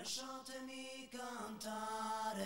Lasciatemi cantare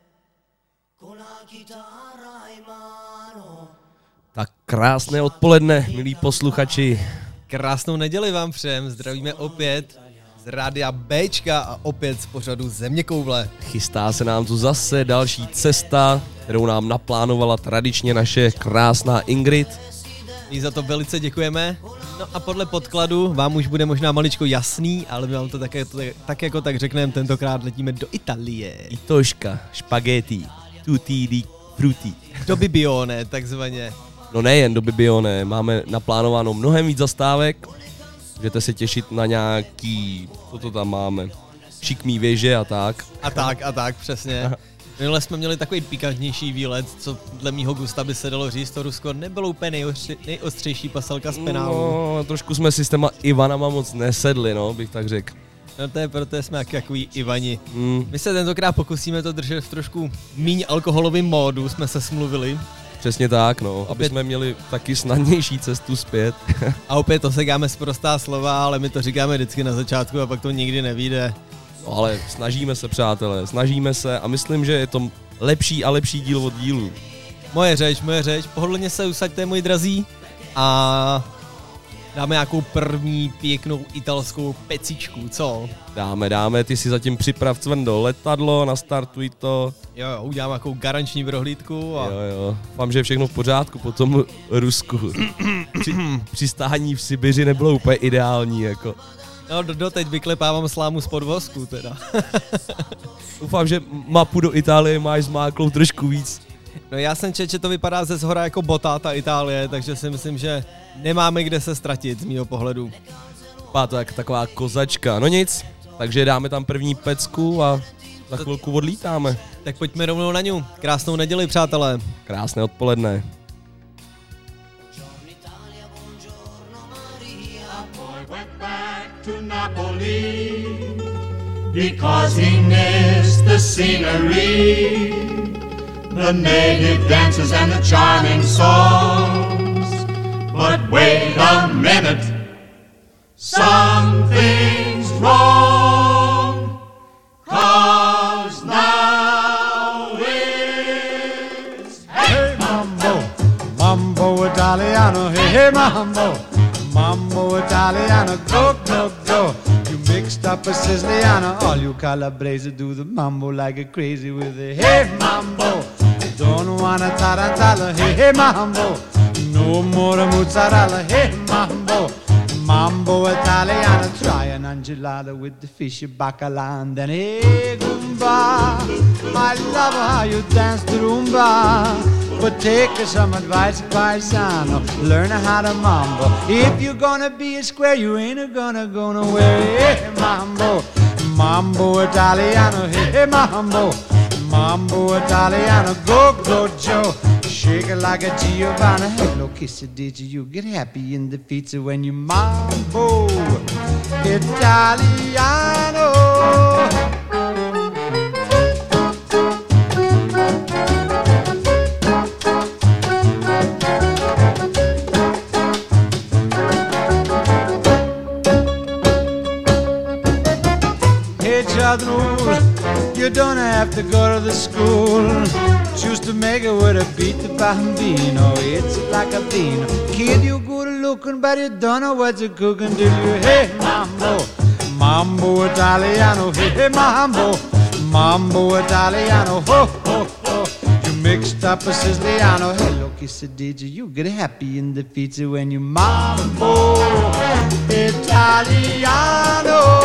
con la chitarra in mano. Tak krásné odpoledne, milí posluchači. Krásnou neděli vám všem, zdravíme opět z rádia Bčka a opět z pořadu Zeměkoule. Chystá se nám tu zase další cesta, kterou nám naplánovala tradičně naše krásná Ingrid. My za to velice děkujeme. No a podle podkladu vám už bude možná maličko jasný, ale my vám to tak jako tak řekneme, tentokrát letíme do Itálie. Itoška, špagety, tutti di frutti. Do Bibione, takzvaně. No nejen do Bibione, máme naplánováno mnohem víc zastávek. Můžete se těšit na nějaký, co to tam máme, šikmý věže a tak. A tak, přesně. Minule jsme měli takový pikantnější výlet, co dle mýho gusta by se dalo říct, to Rusko nebylo úplně nejostřejší paselka z penálu. No, trošku jsme si s těma Ivanama moc nesedli, no, bych tak řekl. No to je proto, jsme jak takový Ivani. My se tentokrát pokusíme to držet v trošku míň alkoholovým módu, jsme se smluvili. Přesně tak, no, aby jsme měli taky snadnější cestu zpět. A opět osekáme sprostá slova, ale my to říkáme vždycky na začátku a pak to nikdy nevyjde. No, ale snažíme se, přátelé, snažíme se a myslím, že je to lepší a lepší díl od dílu. Moje řeč, pohodlně se usaďte, moji drazí, a dáme nějakou první pěknou italskou pecičku, co? Dáme, ty si zatím připrav cvrndo letadlo, nastartuj to. Jo, udělám nějakou garanční prohlídku a... Jo, vám, že je všechno v pořádku po tom Rusku. Přistání v Sibiři nebylo úplně ideální, jako. No, doteď vyklepávám slámu z podvozku, teda. Doufám, že mapu do Itálie máš zmáklou trošku víc. No já jsem četl, že to vypadá ze zhora jako botá Itálie, takže si myslím, že nemáme kde se ztratit z mýho pohledu. Pá, to je taková kozačka, no nic, takže dáme tam první pecku a za chvilku odlítáme. Tak pojďme rovnou na ňu. Krásnou neděli, přátelé. Krásné odpoledne. To Napoli because he missed the scenery, the native dances and the charming songs. But wait a minute, something's wrong, 'cause now it's Hey mambo, mambo Italiano, hey mambo, mambo Italiano, go, go, go. You mixed up a Siciliano, all you Calabrese do the mambo like a crazy with a hey mambo. Don't wanna tarantella, hey mambo. No more mozzarella, hey mambo. Mambo Italiano, try an angelada with the fishy bacala and then hey Goomba. I love how you dance the rumba, but take some advice, paisano, learn how to mambo. If you're gonna be a square, you ain't gonna go nowhere. Hey mambo, mambo Italiano, hey mambo, mambo Italiano, go, go Joe. Shake it like a Giovanna. Hello, kiss it, did you get happy in the pizza when you mambo Italiano? Hey, Jadrul, you don't have to go to the school. Choose to make it with a beat the bambino. It's like a bean. Kid, you good looking, but you don't know what you're cooking till you hey mambo, mambo Italiano, hey mambo, mambo Italiano, ho ho ho. You mixed up a Siciliano. Hello, kiss it, did you get happy in the pizza when you mambo Italiano?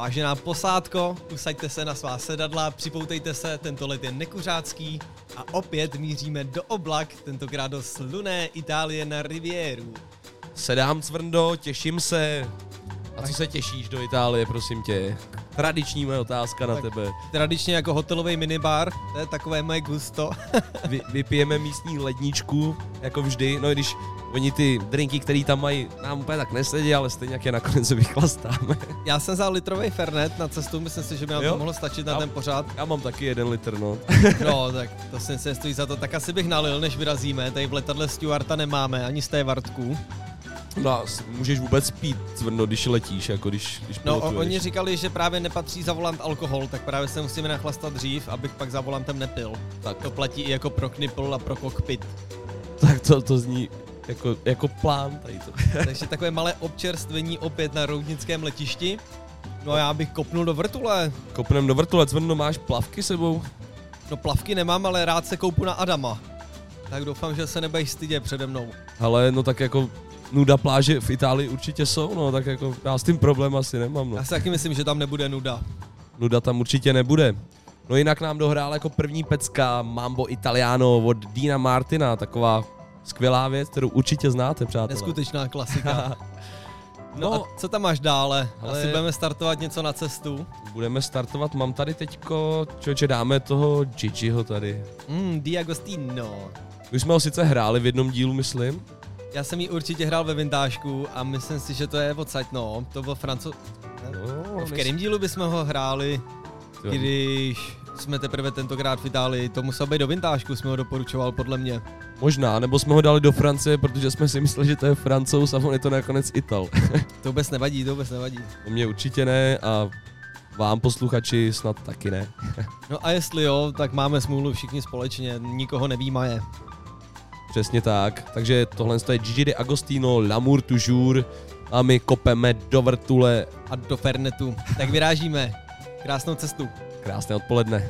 Vážená posádko, usaďte se na svá sedadla, připoutejte se, tento let je nekuřácký a opět míříme do oblak, tentokrát do slunné Itálie na Rivieru. Sedám, Cvrndo, těším se. A co se těšíš do Itálie, prosím tě? Tradiční moje otázka na tebe. Tradičně jako hotelový minibar, to je takové moje gusto. Vypijeme místní ledničku, jako vždy, no i když oni ty drinky, který tam mají, nám úplně tak nesedí, ale stejně jak je nakonec vychlastáme. Já jsem vzal litrový Fernet na cestu, myslím si, že by nám to mohlo stačit na ten pořád. Já mám taky 1 litr, no. No, tak to si nestojí za to, tak asi bych nalil, než vyrazíme, tady v letadle Stewarta nemáme, ani z té Vartku. No a můžeš vůbec pít, Cvrno, když letíš, jako když No, pilotuješ. oni říkali, že právě nepatří za volant alkohol, tak právě se musíme nachlastat dřív, abych pak za volantem nepil. Tak. To platí i jako pro knipl a pro kokpit. Tak to zní jako plán tady to. Takže takové malé občerstvení opět na roudnickém letišti. No a já bych kopnul do vrtule. Kopnem do vrtule, Cvrno, máš plavky sebou? No plavky nemám, ale rád se koupu na Adama. Tak doufám, že se nebudeš stydět přede mnou. Ale no tak jako nuda pláže v Itálii určitě jsou, no tak jako já s tím problém asi nemám, no. Já si taky myslím, že tam nebude nuda. Nuda tam určitě nebude. No jinak nám dohrál jako první pecka Mambo Italiano od Deana Martina, taková skvělá věc, kterou určitě znáte, přátelé. Neskutečná klasika. No a co tam máš dále? Ale- Asi budeme startovat něco na cestu. Budeme startovat, mám tady teďko, člověče, dáme toho Gigiho tady. Diagostino. Už jsme ho sice hráli v jednom dílu, myslím. Já jsem ji určitě hrál ve vintážku a myslím si, že to je odsaď, no. To byl No, v kterém dílu bychom ho hráli, když jsme teprve tentokrát v Itálii? To musel být do vintážku, jsme ho doporučoval podle mě. Možná, nebo jsme ho dali do Francie, protože jsme si mysleli, že to je Francouz a on je to nakonec Ital. To vůbec nevadí, to vůbec nevadí. To mě určitě ne a vám posluchači snad taky ne. No a jestli jo, tak máme smůlu všichni společně, nikoho nevýmaje. Přesně tak. Takže tohle je Gigi D'Agostino, L'amour toujours a my kopeme do vrtule. A do Fernetu. Tak vyrážíme. Krásnou cestu. Krásné odpoledne.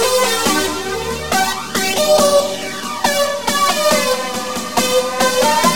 Thank you.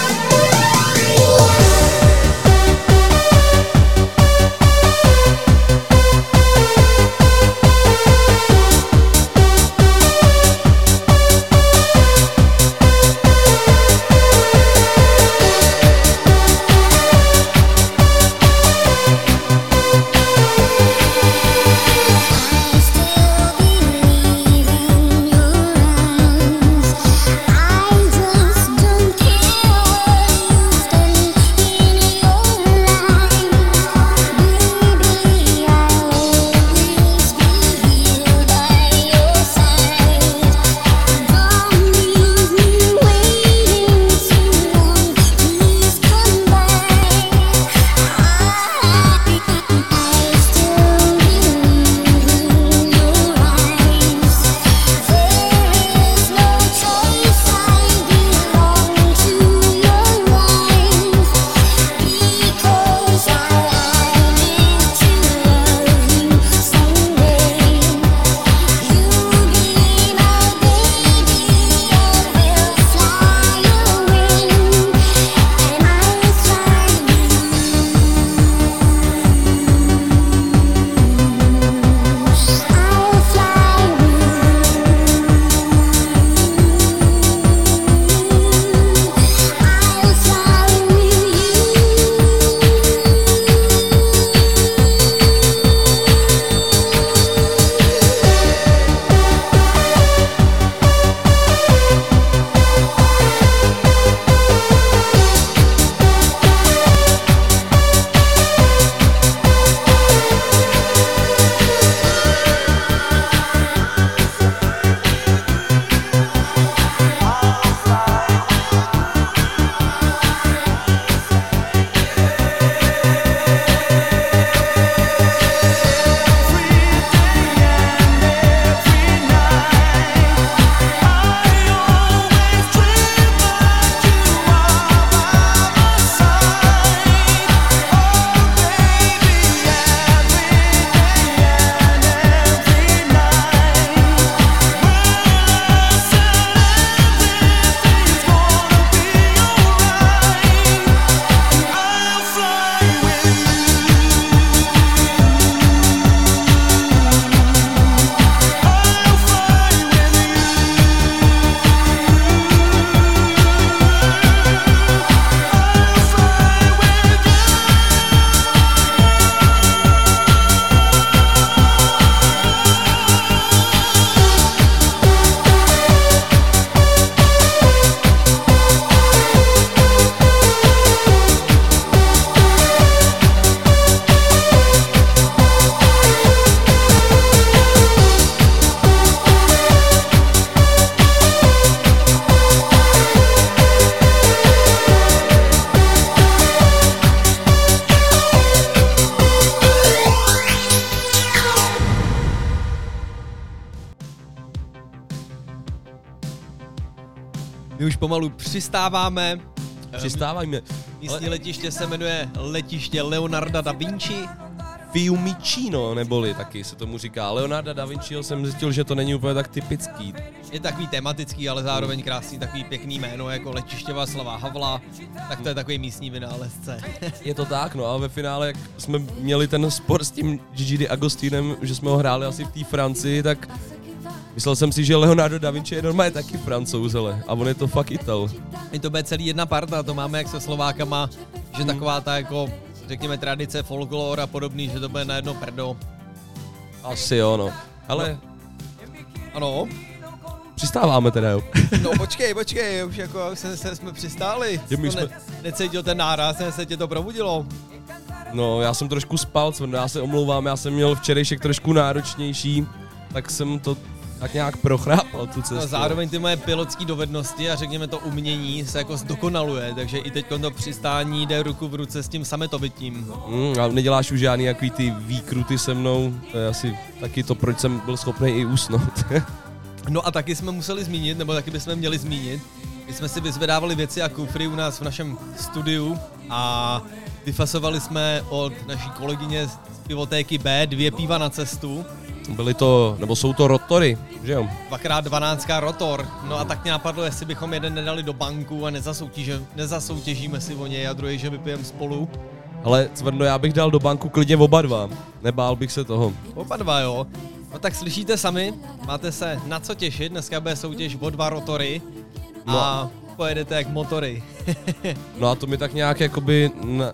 My už pomalu přistáváme. Přistávajme. Místní letiště se jmenuje letiště Leonarda da Vinci. Fiumicino, neboli taky se tomu říká. Leonarda da Vinciho jsem zjistil, že to není úplně tak typický. Je takový tematický, ale zároveň krásný, takový pěkný jméno, jako letiště Václava Havla, tak to je takový místní vynálezce. Je to tak, no a ve finále, jak jsme měli ten spor s tím Gigi D'Agostinem, že jsme ho hráli asi v té Francii, tak myslel jsem si, že Leonardo da Vinci je normálně taky Francouz, ale a on je to fakt Ital. My to bude celý jedna parta, to máme jak se Slovákama, že taková ta jako, řekněme, tradice, folklor a podobný, že to bude na jedno prdo. Asi jo, no. Ale Ano. přistáváme teda, jo. No počkej, už jako jsme přistáli. My jsme... Necítil ten náraz, se tě to probudilo. No, já jsem trošku spal, já se omlouvám, já jsem měl včerejšek trošku náročnější, tak jsem to tak nějak prochrápal tu cestu. No, zároveň ty moje pilotské dovednosti a řekněme to umění se jako zdokonaluje, takže i teď to přistání jde ruku v ruce s tím sametovitím. A neděláš už žádný jaký ty výkruty se mnou, to je asi taky to, proč jsem byl schopný i usnout. No a taky jsme museli zmínit, nebo taky bychom měli zmínit, my jsme si vyzvedávali věci a kufry u nás v našem studiu a vyfasovali jsme od naší kolegyně z pivotéky B 2 piva na cestu. Byly to, nebo jsou to rotory, že jo? 2x12 rotor. No a tak mě napadlo, jestli bychom jeden nedali do banku a nezasoutěžíme si o něj a druhý, že vypijeme spolu. Ale Cvrno, já bych dal do banku klidně oba dva, nebál bych se toho. Oba dva, jo. No tak slyšíte sami, máte se na co těšit, dneska bude soutěž o 2 rotory a pojedete jak motory. No a to mi tak nějak jakoby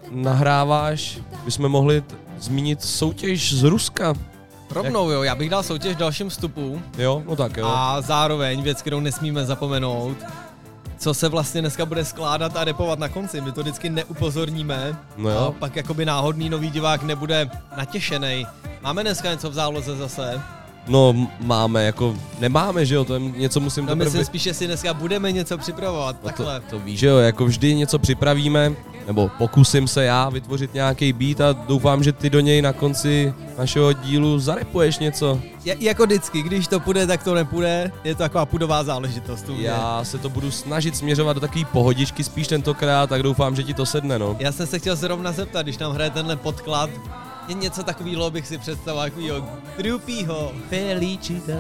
nahráváš, bychom mohli zmínit soutěž z Ruska. Rovnou jo, já bych dal soutěž v dalším vstupu. Jo, no tak jo. A zároveň věc, kterou nesmíme zapomenout, co se vlastně dneska bude skládat a repovat na konci. My to vždycky neupozorníme. No jo. A pak jakoby náhodný nový divák nebude natěšenej. Máme dneska něco v záloze zase? No máme, jako nemáme, že jo, to je něco musím No myslím spíš, že si dneska budeme něco připravovat, no takhle. To víš, že jo, jako vždy něco připravíme, nebo pokusím se já vytvořit nějaký beat a doufám, že ty do něj na konci našeho dílu zarepuješ něco. Jako vždycky, když to půjde, tak to nepůjde, je to taková pudová záležitost. Já se to budu snažit směřovat do takový pohodičky spíš tentokrát, tak doufám, že ti to sedne, no. Já jsem se chtěl zrovna zeptat, když nám hraje tenhle podklad, je něco takového bych si představoval, takovýho Drupího. Felicita.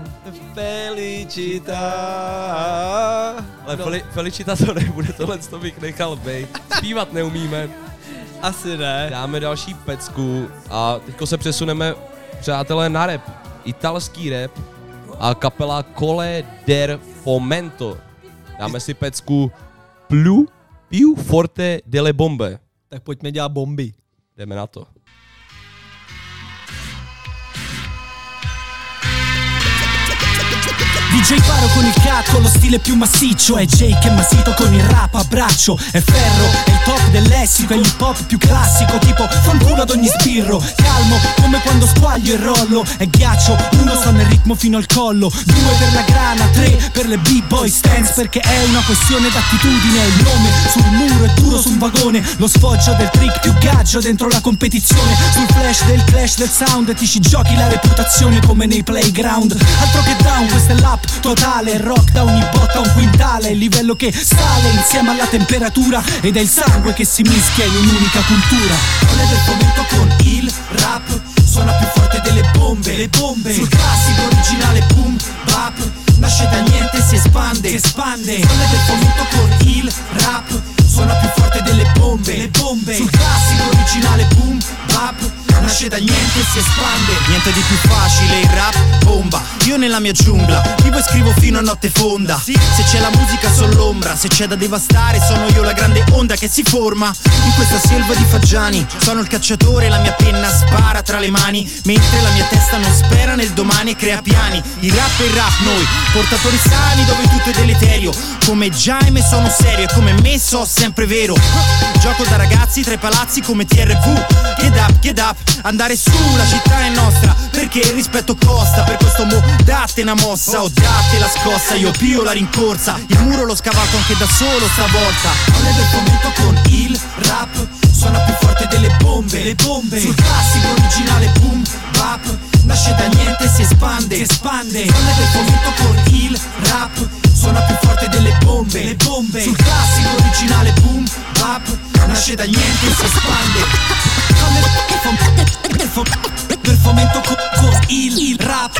Ale no. Felicita to nebude, tohle to bych nechal bejt. Zpívat neumíme. Asi ne. Dáme další pecku a teďko se přesuneme, přátelé, na rap. Italský rap a kapela Colle del Fomento. Dáme si pecku Più forte delle bombe. Tak pojďme dělat bomby. Jdeme na to. DJ Faro con il cat, con lo stile più massiccio. È Jake e Masito con il rap a braccio. È Ferro, è il top del lessico. È l'hip hop più classico, tipo fanculo ad ogni sbirro. Calmo, come quando squaglio e rollo. È ghiaccio, 1 sta nel ritmo fino al collo, 2 per la grana, 3 per le b-boy stance. Perché è una questione d'attitudine. Il nome sul muro è duro su un vagone. Lo sfoggio del trick più gaggio dentro la competizione. Sul flash del clash del sound ti ci giochi la reputazione come nei playground. Altro che down, questa è l'app totale, rock da ogni botta un quintale, il livello che sale insieme alla temperatura ed è il sangue che si mischia in un'unica cultura. Colle del Fomento con il rap suona più forte delle bombe, le bombe sul classico originale boom bap, nasce da niente e si espande, Colle del Fomento con il rap suona più forte delle bombe, le bombe sul classico originale boom bap, nasce da niente e si espande. Niente di più facile, il rap bomba. Io nella mia giungla vivo e scrivo fino a notte fonda. Se c'è la musica sono l'ombra, se c'è da devastare sono io la grande onda che si forma in questa selva di fagiani. Sono il cacciatore, la mia penna spara tra le mani, mentre la mia testa non spera nel domani e crea piani. Il rap è il rap, noi portatori sani dove tutto è deleterio. Come Jaime sono serio e come me so sempre vero. Gioco da ragazzi tra i palazzi come TRV. Get up, andare su, la città è nostra, perché il rispetto costa. Per questo mo date una mossa o date la scossa, io pio la rincorsa. Il muro l'ho scavato anche da solo stavolta. Colle del Fomento con il rap suona più forte delle bombe, le bombe sul classico originale boom bap, nasce da niente e si espande, Colle del Fomento con il rap suona più forte delle bombe, nasce da niente e si espande. Del fomento con il rap.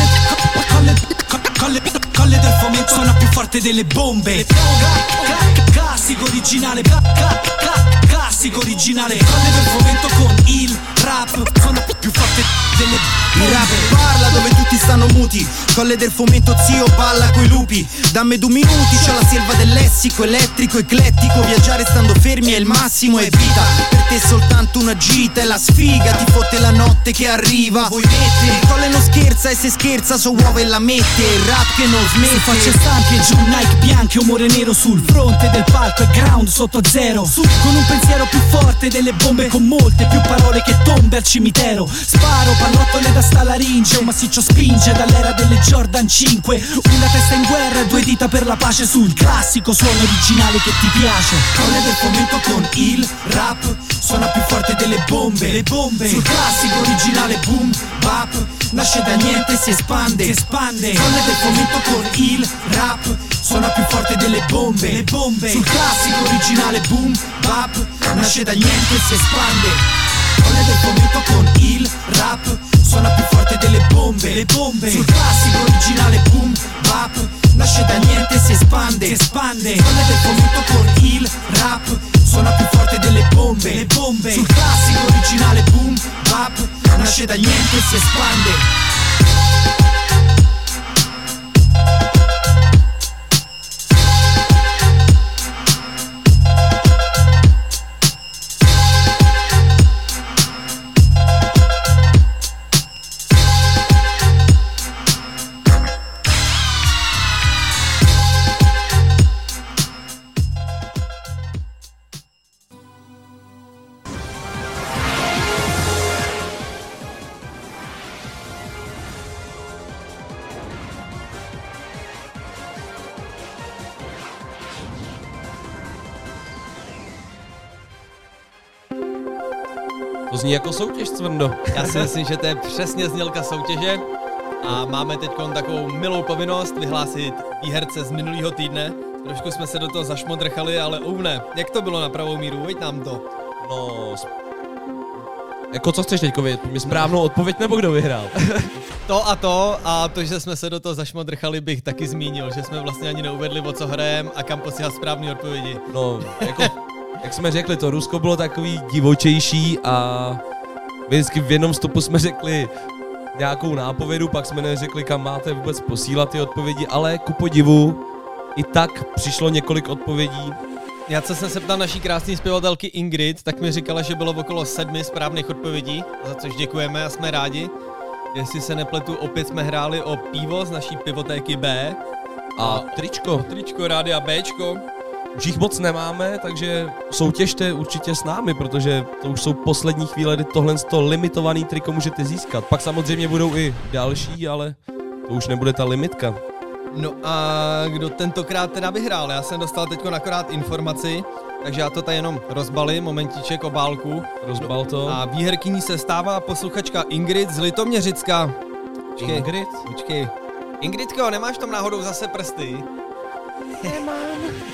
Colle del fomento suona più forte delle bombe. Classico originale. Classico originale. Colle del fomento con il rap. Suona più forte delle bombe. Il rap parla dove tutti stanno muti. Colle del fomento zio balla coi lupi. Dammi 2 minuti, c'ho la selva del lessico elettrico eclettico. Viaggiare stando fermi è il massimo, è vita. Per te soltanto una gita è la sfiga. Ti fotte la notte che arriva. Vuoi mettere? Colle non scherza e se scherza so uova e la mette. Il rap che non smette. Facce stampi e giù Nike bianche, umore nero sul fronte del palco e ground sotto zero. Su con un pensiero più forte delle bombe, con molte più parole che tombe al cimitero. Sparo pallottole da stalaringe, un massiccio spinge dall'era delle Jordan 5. Una testa in guerra e 2 dita per la pace sul classico suono originale che ti piace. Colle del fomento con il rap suona più forte delle bombe. Le bombe sul classico originale boom bap. Nasce da niente e si espande. Colle del fomento con il rap suona più forte delle bombe. Le bombe sul classico originale boom bap. Nasce da niente e si espande. Colle del fomento con il rap suona più forte delle bombe. Le bombe sul classico originale boom bap. Nasce da niente e si espande. Colle del fomento con il rap suona più forte delle bombe. Le bombe sul classico originale boom bap. Nasce da niente e si espande. To zní jako soutěž, Cvrndo. Já si myslím, že to je přesně znělka soutěže a máme teď takovou milou povinnost vyhlásit výherce z minulého týdne. Trošku jsme se do toho zašmodrchali, ale Ouvne, jak to bylo na pravou míru? Veď nám to. No, jako co chceš teďko vědět? Mě správnou odpověď nebo kdo vyhrál? A to, že jsme se do toho zašmodrchali, bych taky zmínil, že jsme vlastně ani neuvedli, o co hrajem a kam posílat správné odpovědi. No, jako, jak jsme řekli, to Rusko bylo takový divočejší a vždycky v jednom stopu jsme řekli nějakou nápovědu, pak jsme neřekli, kam máte vůbec posílat ty odpovědi, ale ku podivu i tak přišlo několik odpovědí. Já co jsem se ptal naší krásné zpěvatelky Ingrid, tak mi říkala, že bylo okolo 7 správných odpovědí, za což děkujeme a jsme rádi. Jestli se nepletu, opět jsme hráli o pivo z naší pivotéky B. A tričko. Tričko, rádia Bčko. Už jich moc nemáme, takže soutěžte určitě s námi, protože to už jsou poslední chvíle, kdy tohle limitovaný triko můžete získat. Pak samozřejmě budou i další, ale to už nebude ta limitka. No a kdo tentokrát teda vyhrál? Já jsem dostal teď akorát informaci, takže já to tady jenom rozbalím, momentíček, obálku. Rozbal to. A výherkyní se stává posluchačka Ingrid z Litoměřicka. Počkej, Ingrid? Počkej. Ingridko, nemáš tam náhodou zase prsty? Nemám.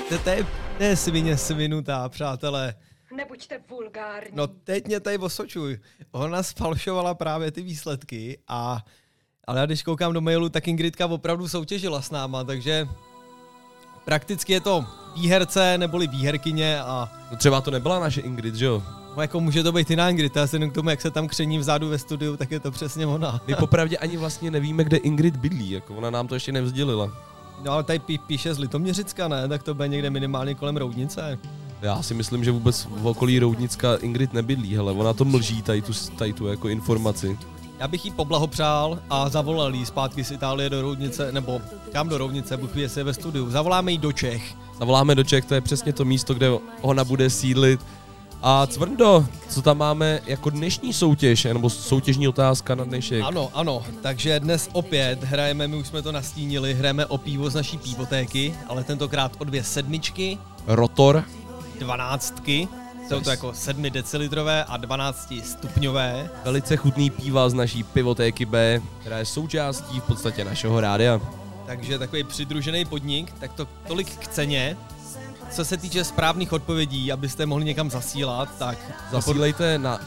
To je svině svinutá, přátelé. Nebuďte vulgární. No teď mě tady osočuj. Ona sfalšovala právě ty výsledky ale já když koukám do mailu, tak Ingridka opravdu soutěžila s náma, takže prakticky je to výherce neboli výherkyně a... No třeba to nebyla naše Ingrid, že jo? No jako může to být jiná Ingrid, já se jenom k tomu, jak se tam kření vzadu ve studiu, tak je to přesně ona. My popravdě ani vlastně nevíme, kde Ingrid bydlí, jako ona nám to ještě nevzdělila. No ale tady píše z Litoměřicka, ne? Tak to bude někde minimálně kolem Roudnice. Já si myslím, že vůbec v okolí Roudnicka Ingrid nebydlí, hele, ona to mlží, tady tu jako informaci. Já bych jí poblahopřál a zavolal jí zpátky z Itálie do Roudnice, nebo kam do Roudnice, Bůh ví, jestli je ve studiu. Zavoláme jí do Čech. Zavoláme do Čech, to je přesně to místo, kde ona bude sídlit. A Cvrndo, co tam máme jako dnešní soutěž, nebo soutěžní otázka na dnešek? Ano, takže dnes opět hrajeme, my už jsme to nastínili, hrajeme o pivo z naší pivotéky, ale tentokrát o 2 sedmičky. Rotor. 12. Jsou to jako 7 decilitrové a 12 stupňové. Velice chutný piva z naší pivotéky B, která je součástí v podstatě našeho rádia. Takže takový přidružený podnik, tak to tolik k ceně. co se týče správných odpovědí, abyste mohli někam zasílat, tak Zasílejte na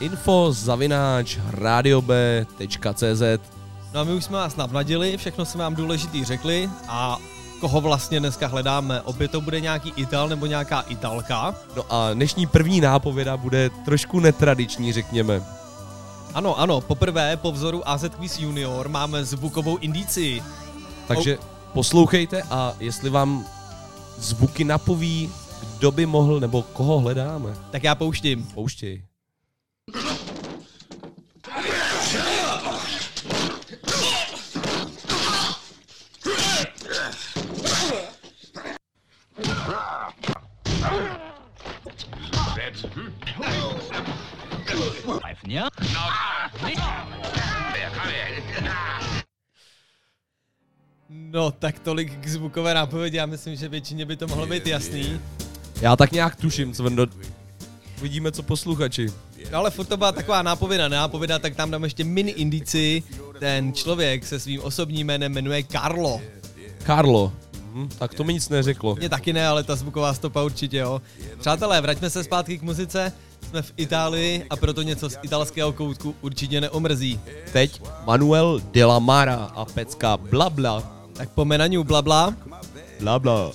info@radiob.cz. No a my už jsme vás navnadili, všechno jsme vám důležitý řekli a koho vlastně dneska hledáme. Opět to bude nějaký Ital nebo nějaká Italka. No a dnešní první nápověda bude trošku netradiční, řekněme. Ano, poprvé po vzoru AZ Quiz Junior máme zvukovou indici. Takže poslouchejte a jestli vám zvuky napoví, kdo by mohl nebo koho hledáme. Tak já pouštím. Pouštěj. No, tak tolik k zvukové nápovědi, já myslím, že většině by to mohlo být jasný. Já tak nějak tuším, Cvrndo. Vidíme, co posluchači. No ale furt to byla taková nápověda, tak tam dám ještě mini indici. Ten člověk se svým osobním jménem jmenuje Carlo. Carlo. Tak to mi nic neřeklo. Mně taky ne, ale ta zvuková stopa určitě, jo. Přátelé, vraťme se zpátky k muzice. Jsme v Itálii a proto něco z italského koutku určitě neomrzí. Teď Manuel de la Mara a pecka Blabla. Tak po menaniu Blabla. Blabla.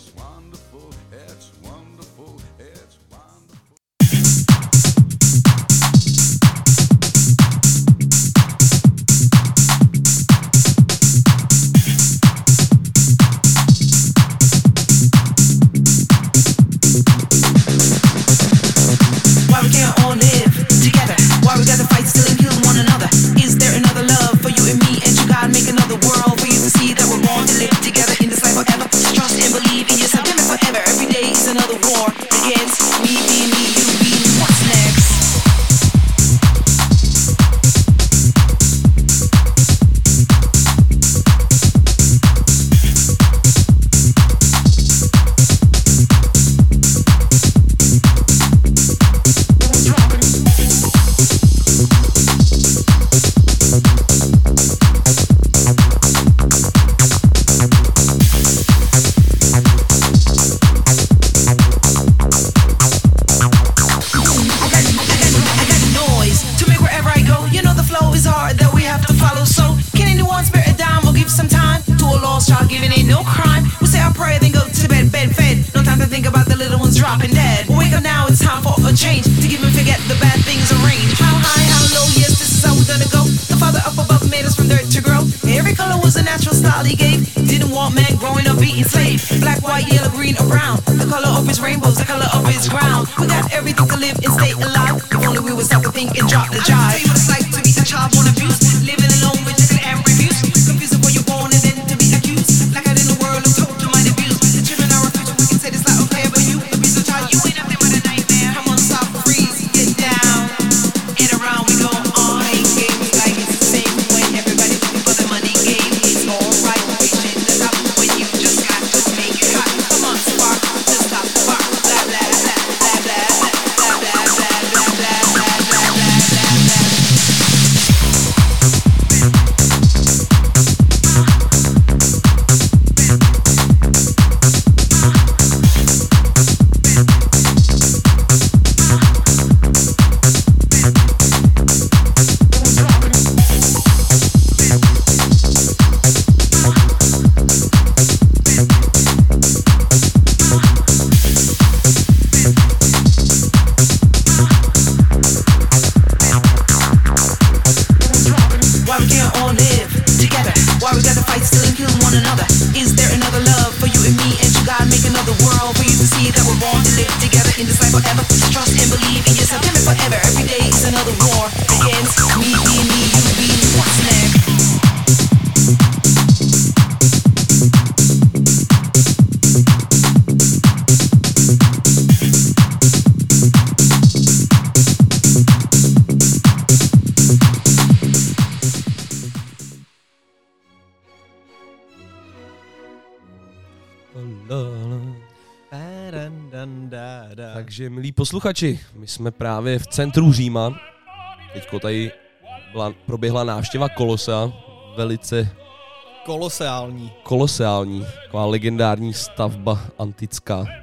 Takže, milí posluchači, my jsme právě v centru Říma. Teďko tady proběhla návštěva Kolosea, velice Koloseální, taková legendární stavba antická.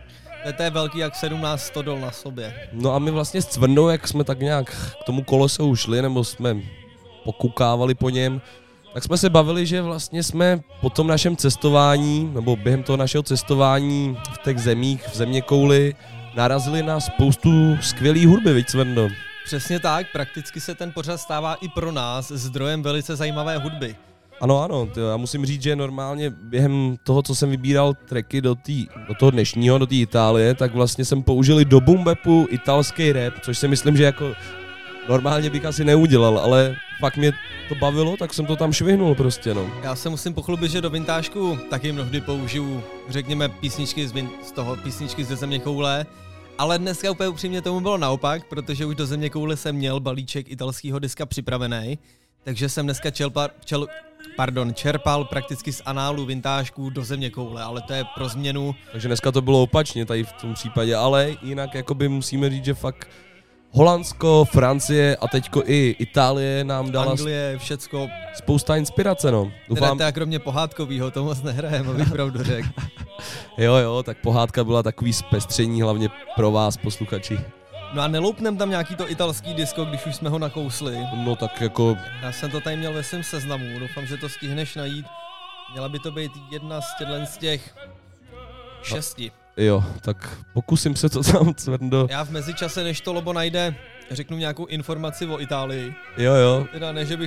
To je velký jak 17 stodol na sobě. No a my vlastně s Cvrndou, jak jsme tak nějak k tomu kolesu šli, nebo jsme pokukávali po něm, tak jsme se bavili, že vlastně jsme po tom našem cestování, nebo během toho našeho cestování v těch zemích, v zeměkouli, narazili na spoustu skvělý hudby, viď Cvrndo? Přesně tak, prakticky se ten pořad stává i pro nás zdrojem velice zajímavé hudby. Ano, já musím říct, že normálně během toho, co jsem vybíral tracky do toho dnešního, do té Itálie, tak vlastně jsem použil i do boom bapu italský rap, což si myslím, že jako normálně bych asi neudělal, ale fakt mě to bavilo, tak jsem to tam švihnul prostě, no. Já se musím pochlubit, že do vintážku taky mnohdy použiju, řekněme, písničky ze Zeměkoule, ale dneska úplně upřímně tomu bylo naopak, protože už do Zeměkoule jsem měl balíček italského diska připravený, takže jsem dneska čerpal prakticky z análu vintážků do Zeměkoule, ale to je pro změnu. Takže dneska to bylo opačně tady v tom případě, ale jinak jakoby musíme říct, že fakt Holandsko, Francie a teďko i Itálie nám dala Anglie, všecko. Spousta inspirace, no. Doufám... Teda kromě pohádkovýho, to moc nehrajeme, abych pravdu řekl. Jo, tak pohádka byla takový zpestření, hlavně pro vás, posluchači. No a neloupnem tam nějaký to italský disko, když už jsme ho nakousli. No tak jako... Já jsem to tady měl ve svém seznamu, doufám, že to stihneš najít. Měla by to být jedna z těch 6. Jo, tak pokusím se to tam, Cvrndo. Já v mezičase, než to Lobo najde, řeknu nějakou informaci o Itálii. Jo. Teda ne, že bych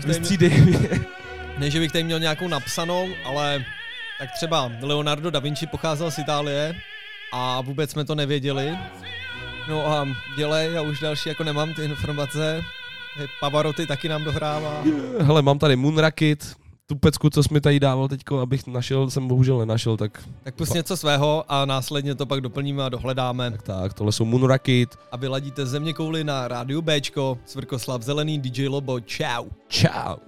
tady měl nějakou napsanou, ale tak třeba Leonardo da Vinci pocházel z Itálie a vůbec jsme to nevěděli. No a dělej, já už další jako nemám ty informace. Pavarotti taky nám dohrává. Hele, mám tady Moonrakit, tu pecku, co jsi mi tady dával teďko, abych našel, jsem bohužel nenašel, tak... Tak pust něco svého a následně to pak doplníme a dohledáme. Tak, tohle jsou Moonrakit. A vy ladíte Zeměkouli na rádiu Bčko, Cvrkoslav Zelený, DJ Lobo, čau. Čau.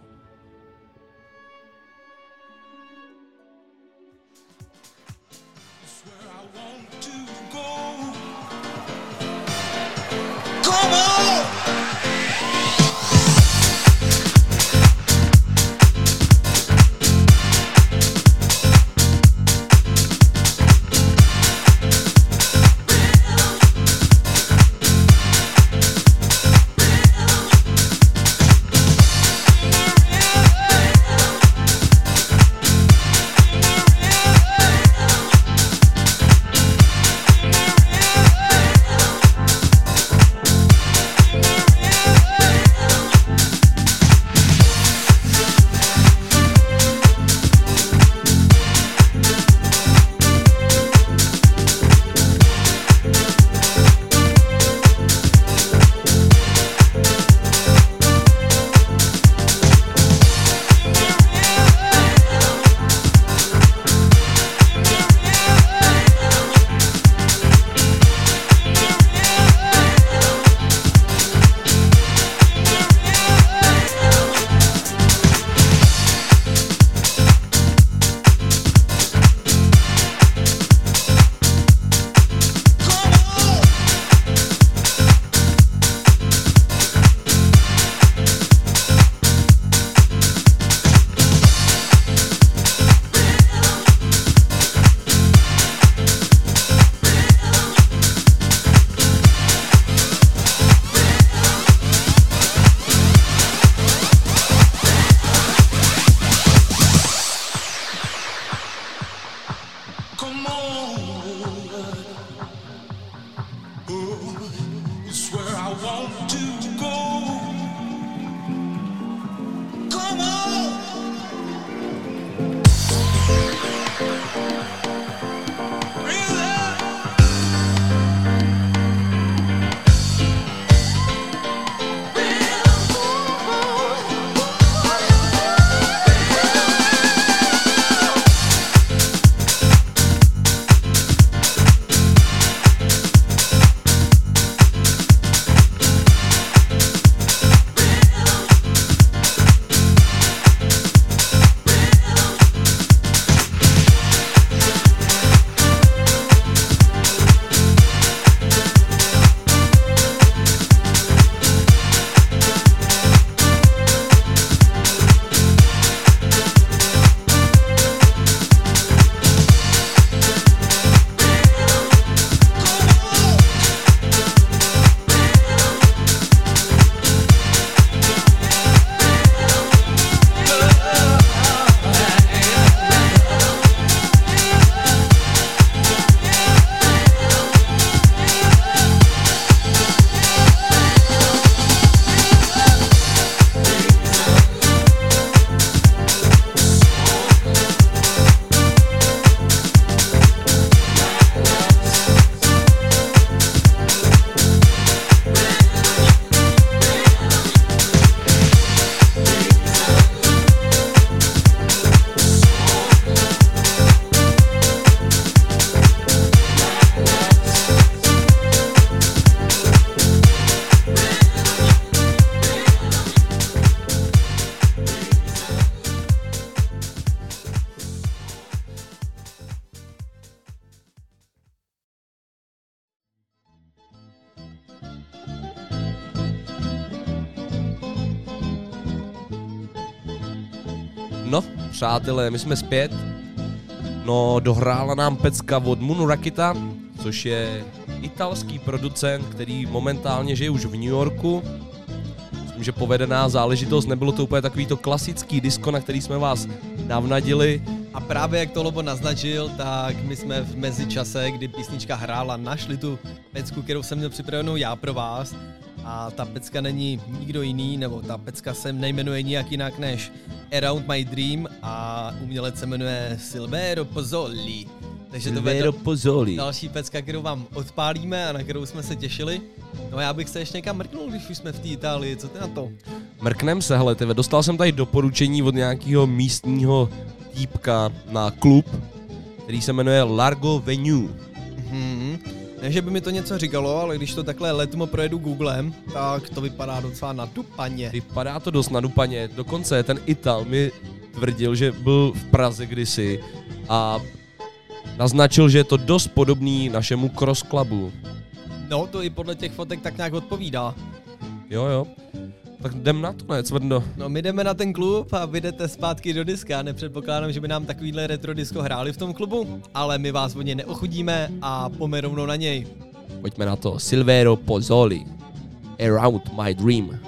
No, přátelé, my jsme zpět. No, dohrála nám pecka od Moon Rakita, což je italský producent, který momentálně žije už v New Yorku. Myslím, že povedená záležitost, nebylo to úplně takový to klasický disco, na který jsme vás navnadili. A právě jak to Lobo naznačil, tak my jsme v mezičase, kdy písnička hrála, našli tu pecku, kterou jsem měl připravenou já pro vás. A ta pecka není nikdo jiný, nebo ta pecka se nejmenuje nijak jinak než Around My Dream a umělec se jmenuje Silvero Pozzoli. Takže to bude další pecka, kterou vám odpálíme a na kterou jsme se těšili. No já bych se ještě někam mrknul, když už jsme v té Itálii, co ty na to? Mrknem se, hele, dostal jsem tady doporučení od nějakého místního týpka na klub, který se jmenuje Largo Venue. Ne, že by mi to něco říkalo, ale když to takhle letmo projedu Googlem, tak to vypadá docela nadupaně. Vypadá to dost nadupaně, dokonce ten Ital mi tvrdil, že byl v Praze kdysi a naznačil, že je to dost podobný našemu Cross Clubu. No, to i podle těch fotek tak nějak odpovídá. Jo. Tak jdem na to, ne, Cvrndo? No, my jdeme na ten klub a vy jdete zpátky do diska. Nepředpokládám, že by nám takovýhle retro disco hráli v tom klubu, ale my vás od něj neochudíme a pojďme rovnou na něj. Pojďme na to. Silvero Pozzoli, Around My Dream.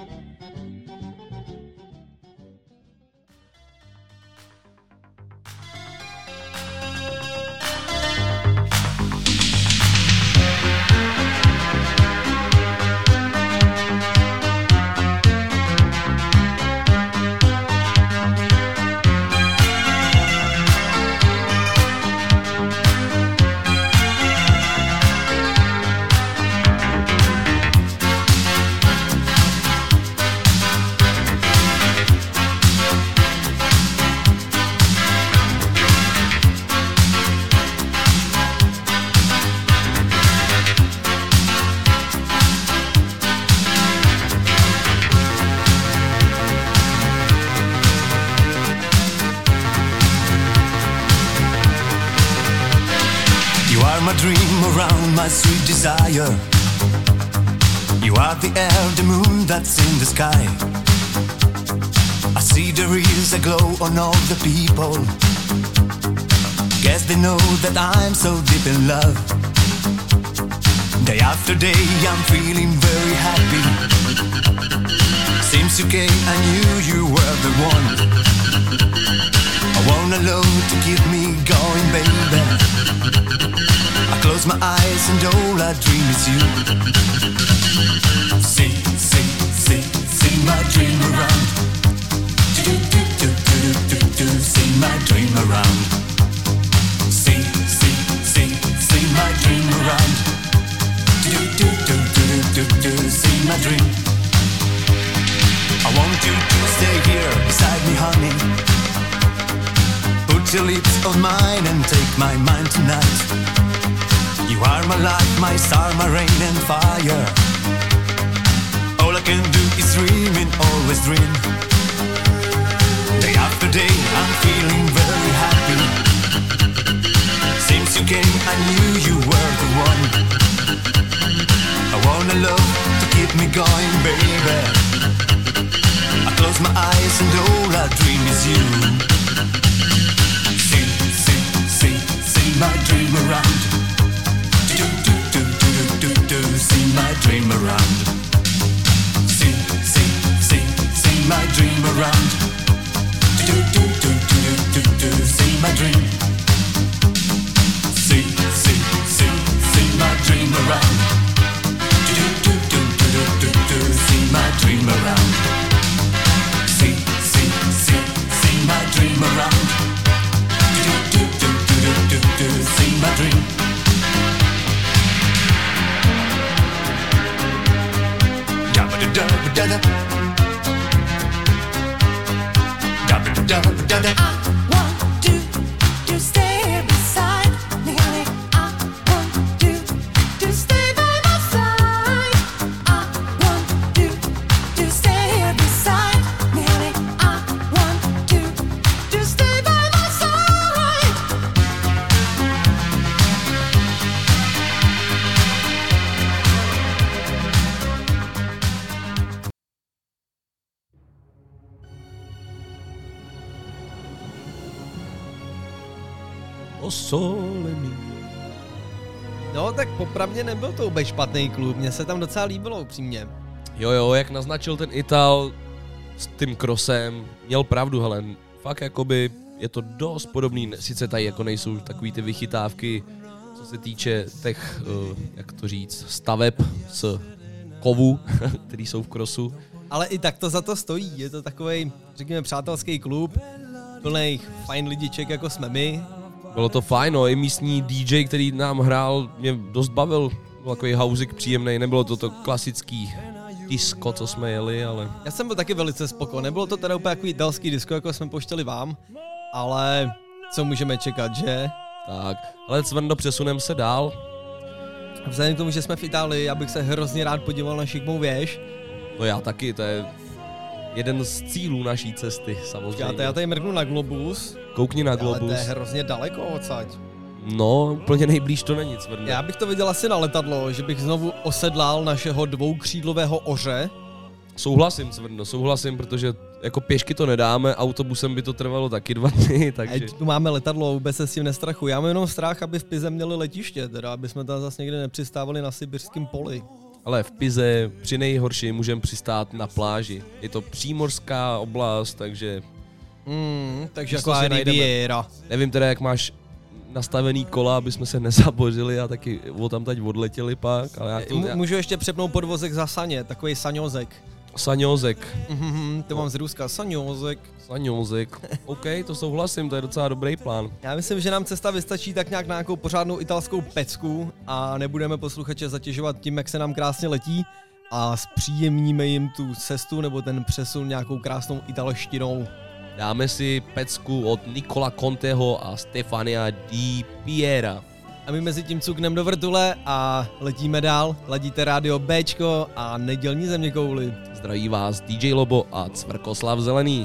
Sweet desire, you are the air, the moon that's in the sky. I see there is a glow on all the people. Guess they know that I'm so deep in love. Day after day I'm feeling very happy. Since you came I knew you were the one. I want a love to keep me going, baby. I close my eyes and all I dream is you. See my dream around. See my dream around. See my dream around. See my dream. I want you to stay here beside me, honey. Put your lips on mine and take my mind tonight. You are my life, my star, my rain and fire. All I can do is dream and always dream. Day after day I'm feeling very happy. Since you came I knew you were the one. I want a love to keep me going, baby. I close my eyes and all I dream is you. See my dream around. See my dream around. See my dream around. See my dream. See my dream around. See my dream around. See my dream around. See my dream. I want to stay beside me, honey. I want to stay by my side. I want to stay beside me, honey. I want to stay by my side. sole mio. No tak popravdě nebyl to vůbec špatný klub, mně se tam docela líbilo upřímně. Jo, jak naznačil ten Ital s tím Crossem, měl pravdu, hele, fakt jakoby je to dost podobný, sice tady jako nejsou takový ty vychytávky, co se týče těch, jak to říct, staveb z kovu, který jsou v crossu. Ale i tak to za to stojí, je to takovej, řekněme, přátelský klub, plných fajn lidiček, jako jsme my. Bylo to fajn, no, i místní DJ, který nám hrál, mě dost bavil, byl takový houzik příjemný, nebylo to klasický disco, co jsme jeli, ale... Já jsem byl taky velice spokojený, nebylo to teda úplně takový italský disco, jako jsme pouštěli vám, ale co můžeme čekat, že? Tak, ale Cvrndo, přesunem se dál. Vzhledem k tomu, že jsme v Itálii, já bych se hrozně rád podíval na šikmou věž. No já taky, to je jeden z cílů naší cesty, samozřejmě. Já tady mrknu na globus. Koukni na globus. Ale to je hrozně daleko odsaď. No, úplně nejblíž to není, Cvrndo. Já bych to viděl asi na letadlo, že bych znovu osedlal našeho dvoukřídlového oře. Souhlasím, Cvrndo, souhlasím, protože jako pěšky to nedáme, autobusem by to trvalo taky 2 dny, takže... A tu máme letadlo, vůbec se s tím nestrachuji. Já mám jenom strach, aby v Pize měli letiště, teda aby jsme tam zase někde nepřistávali na sibirském poli. Ale v Pize při nejhorší můžeme přistát na pláži. Je to přímořská oblast, takže... Takže jako Riviera. Nevím teda, jak máš nastavený kola, aby jsme se nezabořili a taky tamtať odletěli pak, ale já to... Můžu ještě přepnout podvozek za saně, takový saňozek. Saňozek. To mám z Ruska, saňozek. OK, to souhlasím, to je docela dobrý plán. Já myslím, že nám cesta vystačí tak nějak na nějakou pořádnou italskou pecku a nebudeme posluchače zatěžovat tím, jak se nám krásně letí a zpříjemníme jim tu cestu nebo ten přesun nějakou krásnou italštinou. Dáme si pecku od Nicola Conteho a Stefania Di Piera. A my mezi tím cuknem do vrtule a letíme dál. Ladíte rádio Bčko a nedělní zeměkouli. Zdraví vás DJ Lobo a Cvrkoslav Zelený.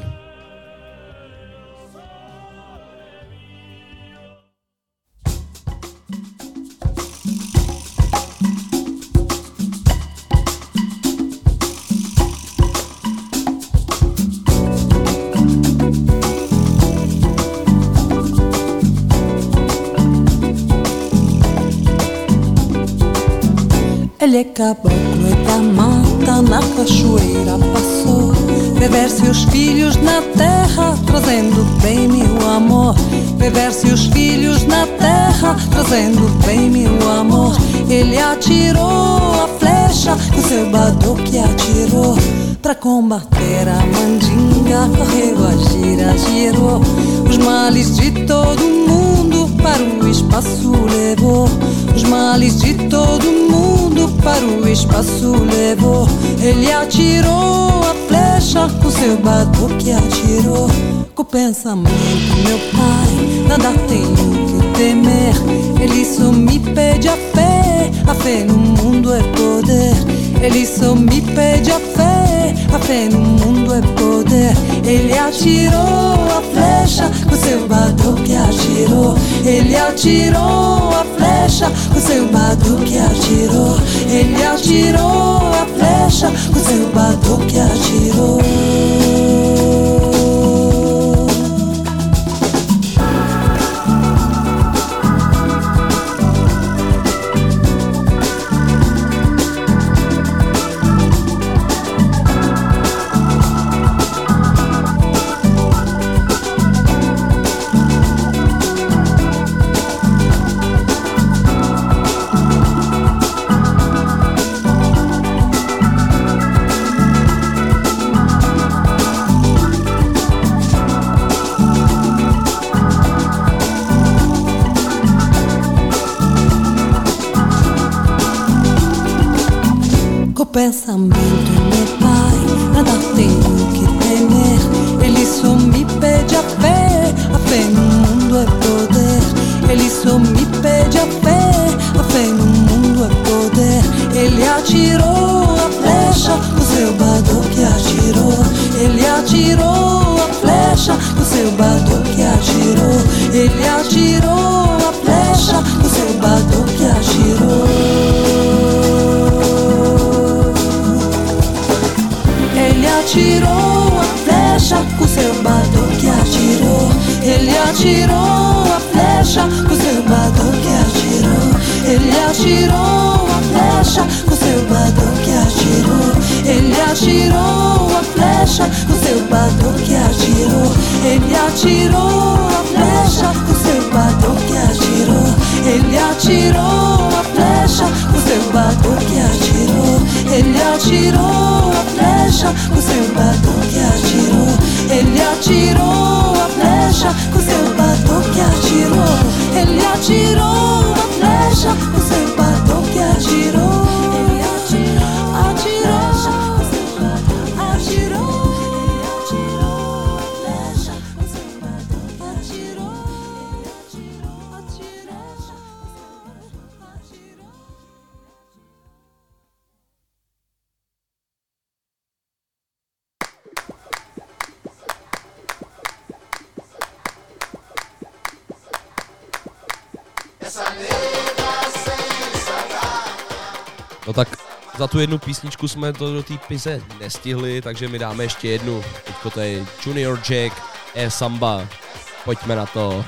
Ele é caboclo e da mata, na cachoeira passou. Reverse os filhos na terra, trazendo bem meu amor. Reverse os filhos na terra, trazendo bem meu amor. Ele atirou a flecha, com seu badoque atirou. Pra combater a mandinga, correu a gira, girou. Os males de todo mundo para o espaço levou. Os males de todo mundo para o espaço levou. Ele atirou a flecha, com seu badoque atirou. Com o pensamento, meu pai, nada tenho que temer. Ele só me pede a fé no mundo é poder. Ele só me pede a fé no mundo é poder. Ele atirou a flecha, com seu badoque atirou. Ele atirou a flecha, com seu badoque atirou. Ele atirou a flecha, com seu badoque atirou. Pensamento, meu pai, nada tenho que temer. Ele só me pede a fé no mundo é poder. Ele só me pede a fé no mundo é poder. Ele atirou a flecha, o seu badoque atirou. Ele atirou a flecha, o seu badoque atirou. Ele atirou a flecha, o seu badoque atirou. Ele atirou a flecha, com seu badoque atirou. Ele atirou a flecha. flecha com seu batuque atirou. Ele atirou a flecha com seu batuque atirou. Ele atirou a flecha com seu batuque atirou. Ele atirou a flecha com seu batuque atirou. Ele atirou a flecha com seu batuque atirou. Ele atirou a flecha com seu batuque atirou. Ele atirou a flecha com seu batuque atirou. Ele atirou a flecha com seu batuque atirou. Ele atirou, atirou, atirou, atirou a flecha com seu batuque atirou. Atirou, atirou. No tak za tu jednu písničku jsme to do té pize nestihli, takže my dáme ještě jednu. Teďko to je Junior Jack, Samba. Pojďme na to.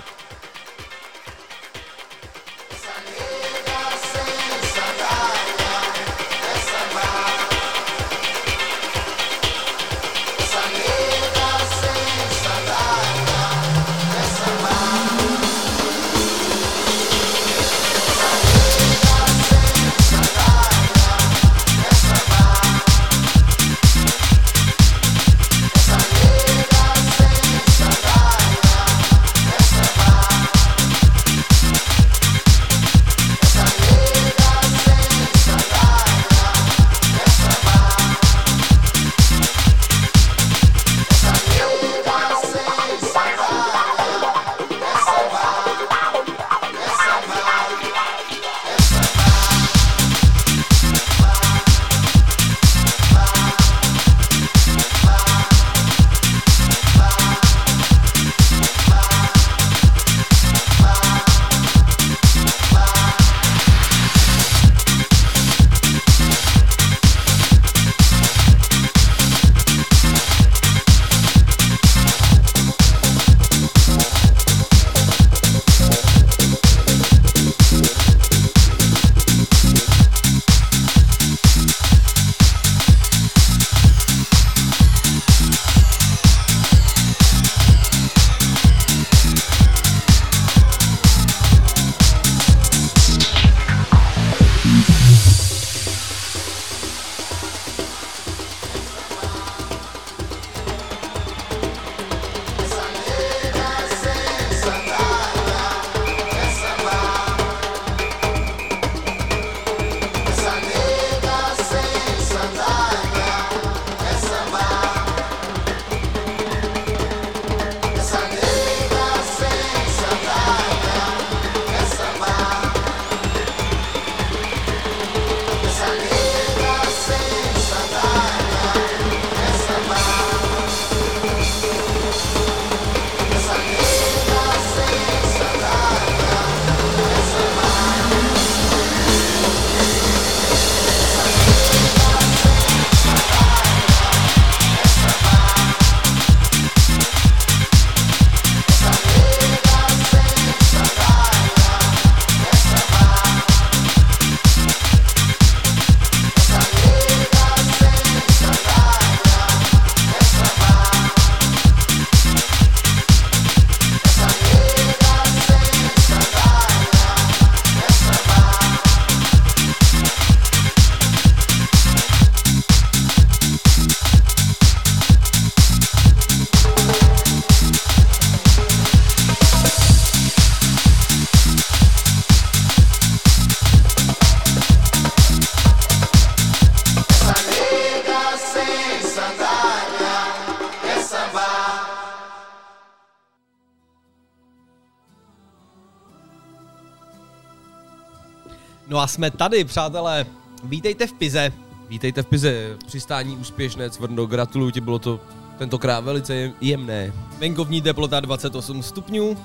No a jsme tady, přátelé. Vítejte v Pize. Vítejte v Pize, přistání úspěšné, Cvrno, gratuluju ti, bylo to tentokrát velice jemné. Venkovní teplota 28 stupňů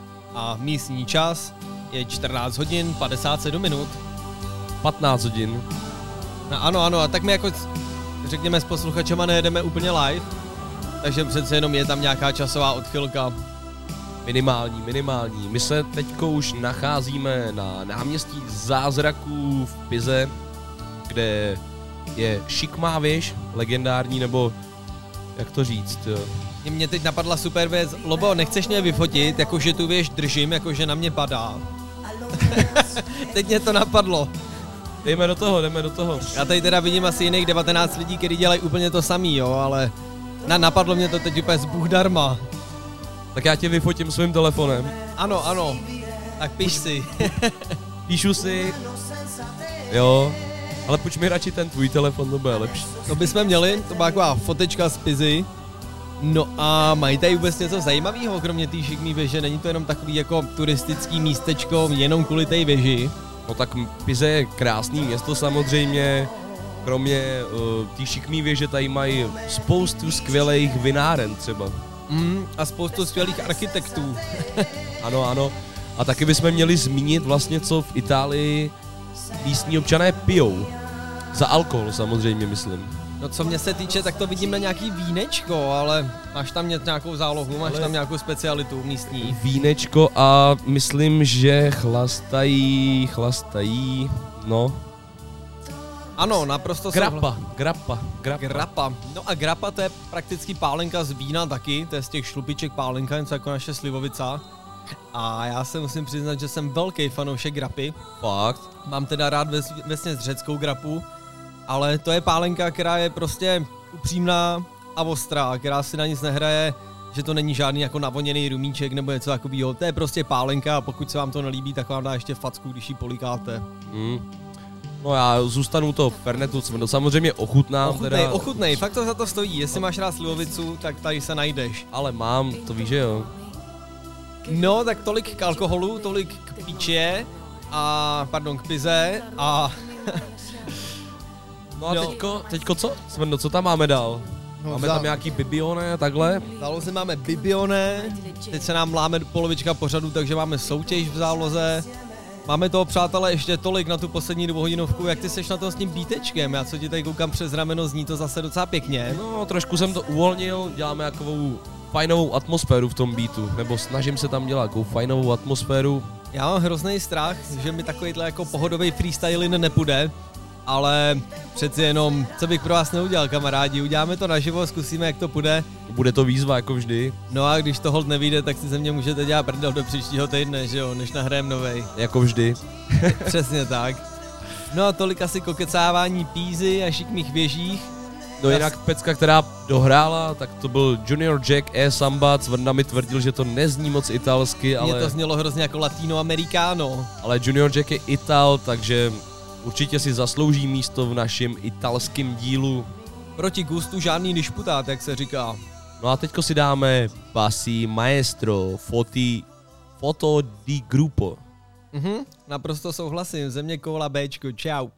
a místní čas je 14 hodin 57 minut. 15 hodin. No, ano, a tak my jako řekněme s posluchačema nejedeme úplně live, takže přece jenom je tam nějaká časová odchylka. Minimální. My se teďko už nacházíme na náměstí Zázraků v Pize, kde je šikmá věž, legendární, nebo jak to říct, jo. Mě teď napadla super věc. Lobo, nechceš mě vyfotit, jakože tu věž držím, jakože na mě padá. Teď mě to napadlo. Jdeme do toho. Já tady teda vidím asi jiných 19 lidí, kteří dělají úplně to samý, jo, ale napadlo mě to teď úplně z Bůh darma. Tak já tě vyfotím svým telefonem. Ano. Tak piš si. Píšu si. Jo. Ale půjč mi radši ten tvůj telefon, to bude lepší. To bychom měli, to byla taková fotečka z Pizy. No a mají tady vůbec něco zajímavého, kromě té šikmý věže? Není to jenom takový jako turistický místečko jenom kvůli té věži? No tak Pize je krásný město samozřejmě. Kromě té šikmý věže tady mají spoustu skvělých vináren třeba. A spoustu skvělých architektů. Ano. A taky bychom měli zmínit vlastně, co v Itálii místní občané pijou. Za alkohol samozřejmě, myslím. No co mě se týče, tak to vidím na nějaký vínečko, ale máš tam nějakou zálohu, máš tam nějakou specialitu místní. Vínečko a myslím, že chlastají, no. Ano, naprosto Grappa. No a grappa to je prakticky pálenka z vína taky, to je z těch šlupiček pálenka, něco jako naše slivovica. A já se musím přiznat, že jsem velký fanoušek grapy. Fakt? Mám teda rád vesměs řeckou grapu, ale to je pálenka, která je prostě upřímná a ostrá, která si na nic nehraje, že to není žádný jako navoněný rumíček nebo něco takového. To je prostě pálenka a pokud se vám to nelíbí, tak vám dá ještě facku, když ji polikáte. No já zůstanu to Fernetu, samozřejmě ochutnám. Ochutnej, fakt to za to stojí. Jestli máš rád slivovicu, tak tady se najdeš. Ale mám, to víš, že jo. No, tak tolik k alkoholu, tolik k píče k pize a... No a teďko co? Svrno, co tam máme dál? Máme tam nějaký bibione, takhle? V záloze máme bibione, teď se nám láme polovička pořadu, takže máme soutěž v záloze. Máme toho, přátelé, ještě tolik na tu poslední dvouhodinovku. Jak ty seš na tom s tím beatečkem? Já co ti tady koukám přes rameno, zní to zase docela pěkně. No, trošku jsem to uvolnil, děláme takovou fajnovou atmosféru v tom beatu, nebo snažím se tam dělat takovou fajnovou atmosféru. Já mám hrozný strach, že mi takovýhle jako pohodový freestyling nepůjde, ale přeci jenom, co bych pro vás neudělal, kamarádi, uděláme to naživo, zkusíme, jak to půjde. Bude to výzva, jako vždy. No a když to hold nevyjde, tak si ze mě můžete dělat prdel do příštího týdne, že jo, než nahrajem novej. Jako vždy. Přesně tak. No a tolik asi kokecávání Pízy a šikmých věžích. No jinak pecka, která dohrála, tak to byl Junior Jack Samba. Cvrna mi tvrdil, že to nezní moc italsky, ale... Mně to znělo hrozně jako latinoamericano. Ale Junior Jack je Ital, takže určitě si zaslouží místo v našem italském dílu. Proti gustu žádný disputát, jak se říká. No a teďko si dáme Passi Maestro, Foto di Gruppo. Naprosto souhlasím, země kola Bčko, čau.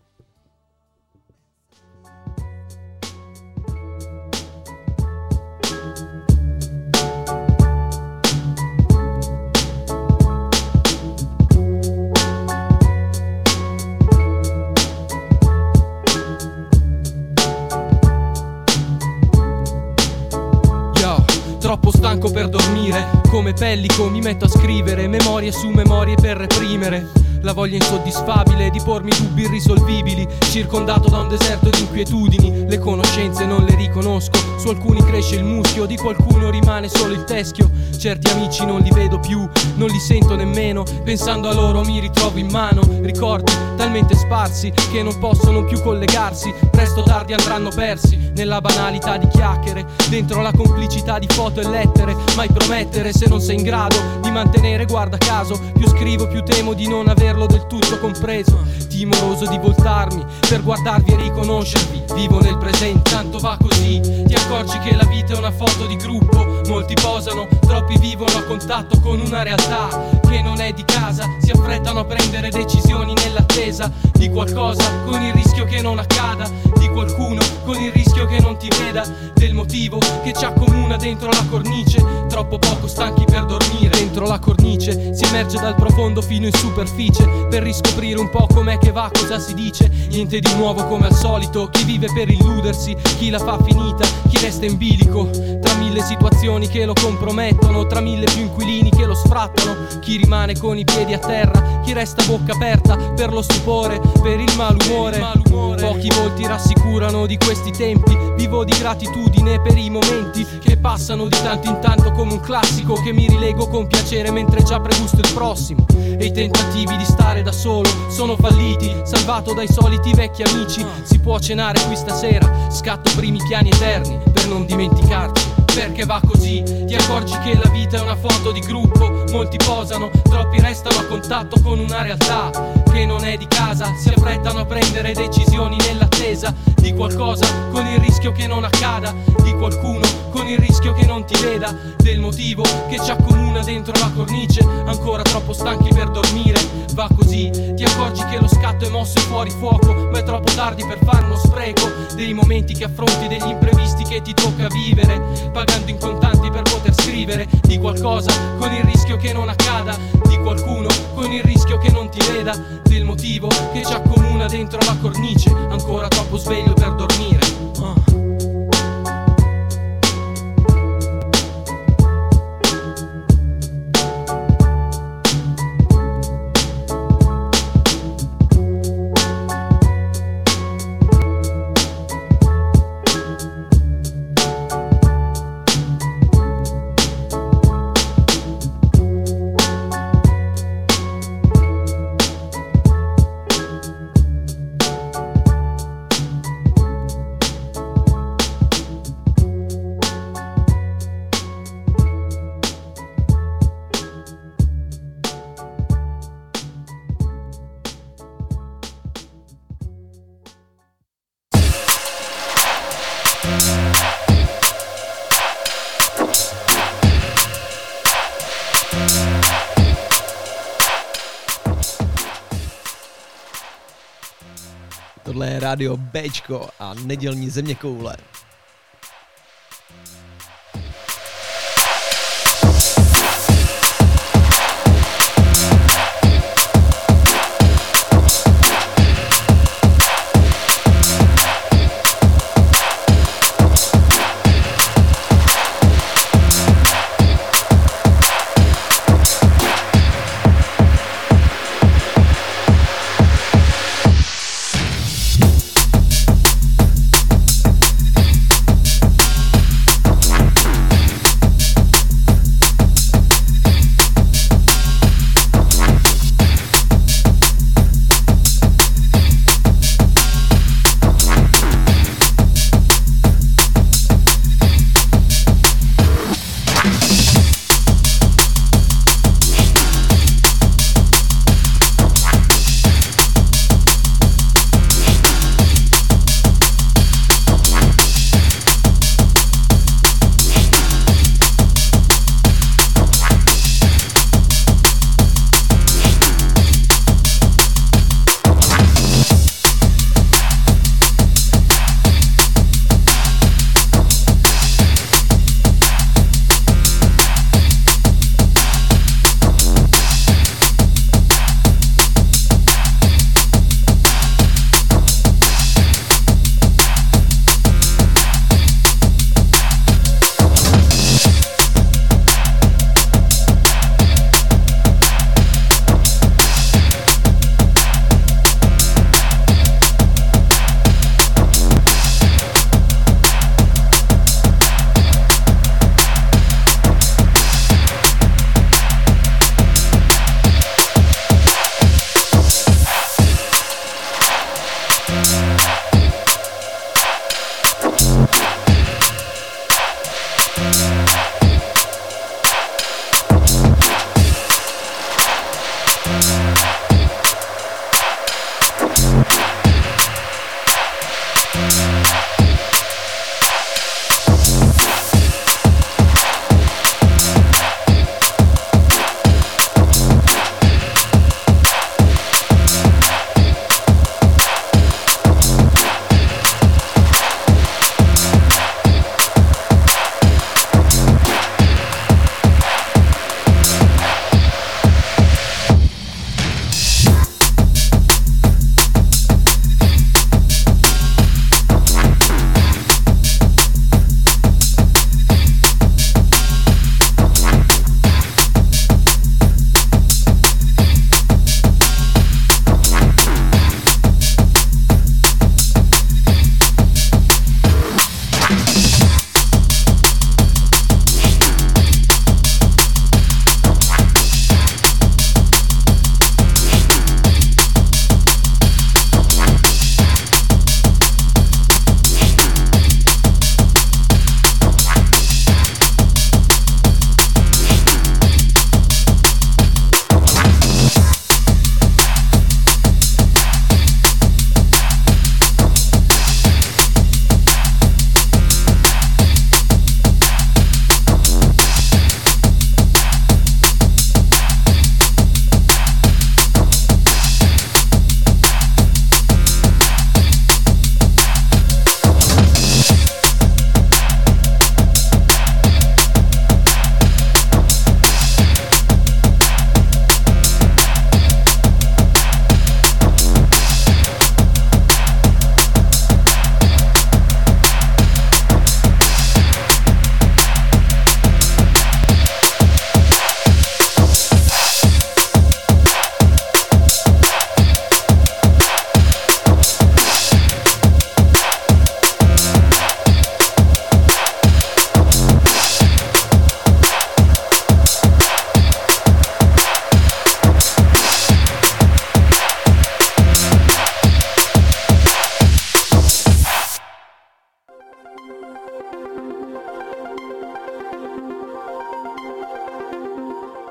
Troppo stanco per dormire, come pellico mi metto a scrivere memorie su memorie per reprimere la voglia insoddisfabile di pormi dubbi irrisolvibili, circondato da un deserto di inquietudini. Le conoscenze non le riconosco, su alcuni cresce il muschio, di qualcuno rimane solo il teschio. Certi amici non li vedo più, non li sento nemmeno, pensando a loro mi ritrovo in mano ricordi talmente sparsi che non possono più collegarsi, presto o tardi andranno persi nella banalità di chiacchiere, dentro la complicità di foto e lettere. Mai promettere se non sei in grado di mantenere, guarda caso, più scrivo più temo di non averlo del tutto compreso, timoroso di voltarmi per guardarvi e riconoscervi. Vivo nel presente, tanto va così, ti accorgi che la vita è una foto di gruppo, molti posano, troppi vivono a contatto con una realtà che non è di casa, si affrettano a prendere decisioni nell'attesa di qualcosa con il rischio che non accada, di qualcuno con il rischio che non ti veda, del motivo che ci accomuna dentro la cornice, troppo poco stanchi per dormire. Dentro la cornice si emerge dal profondo fino in superficie per riscoprire un po' com'è che va, cosa si dice. Niente di nuovo come al solito, chi vive per illudersi, chi la fa finita, chi resta in bilico tra mille situazioni che lo compromettono. combattono tra mille più inquilini che lo sfrattano. Chi rimane con i piedi a terra, chi resta a bocca aperta per lo stupore, per il malumore. Pochi volti rassicurano di questi tempi. Vivo di gratitudine per i momenti che passano di tanto in tanto come un classico che mi rilego con piacere mentre già pregusto il prossimo. E i tentativi di stare da solo sono falliti, salvato dai soliti vecchi amici. Si può cenare qui stasera, scatto primi piani eterni per non dimenticarci. Perché va così, ti accorgi che la vita è una foto di gruppo. Molti posano, troppi restano a contatto con una realtà che non è di casa. Si affrettano a prendere decisioni nell'attesa di qualcosa, con il rischio che non accada. Di qualcuno, con il rischio che non ti veda. Del motivo che ci accomuna dentro la cornice, ancora troppo stanchi per dormire. Va così, ti accorgi che lo scatto è mosso e fuori fuoco, ma è troppo tardi per fare uno spreco dei momenti che affronti, degli imprevisti che ti tocca vivere, pagando in contanti per poter scrivere di qualcosa, con il rischio che non accada. Di qualcuno, con il rischio che non ti veda. Del motivo che ci accomuna dentro la cornice, ancora troppo sveglio per dormire. Tohle je rádio Bčko a nedělní zeměkoule.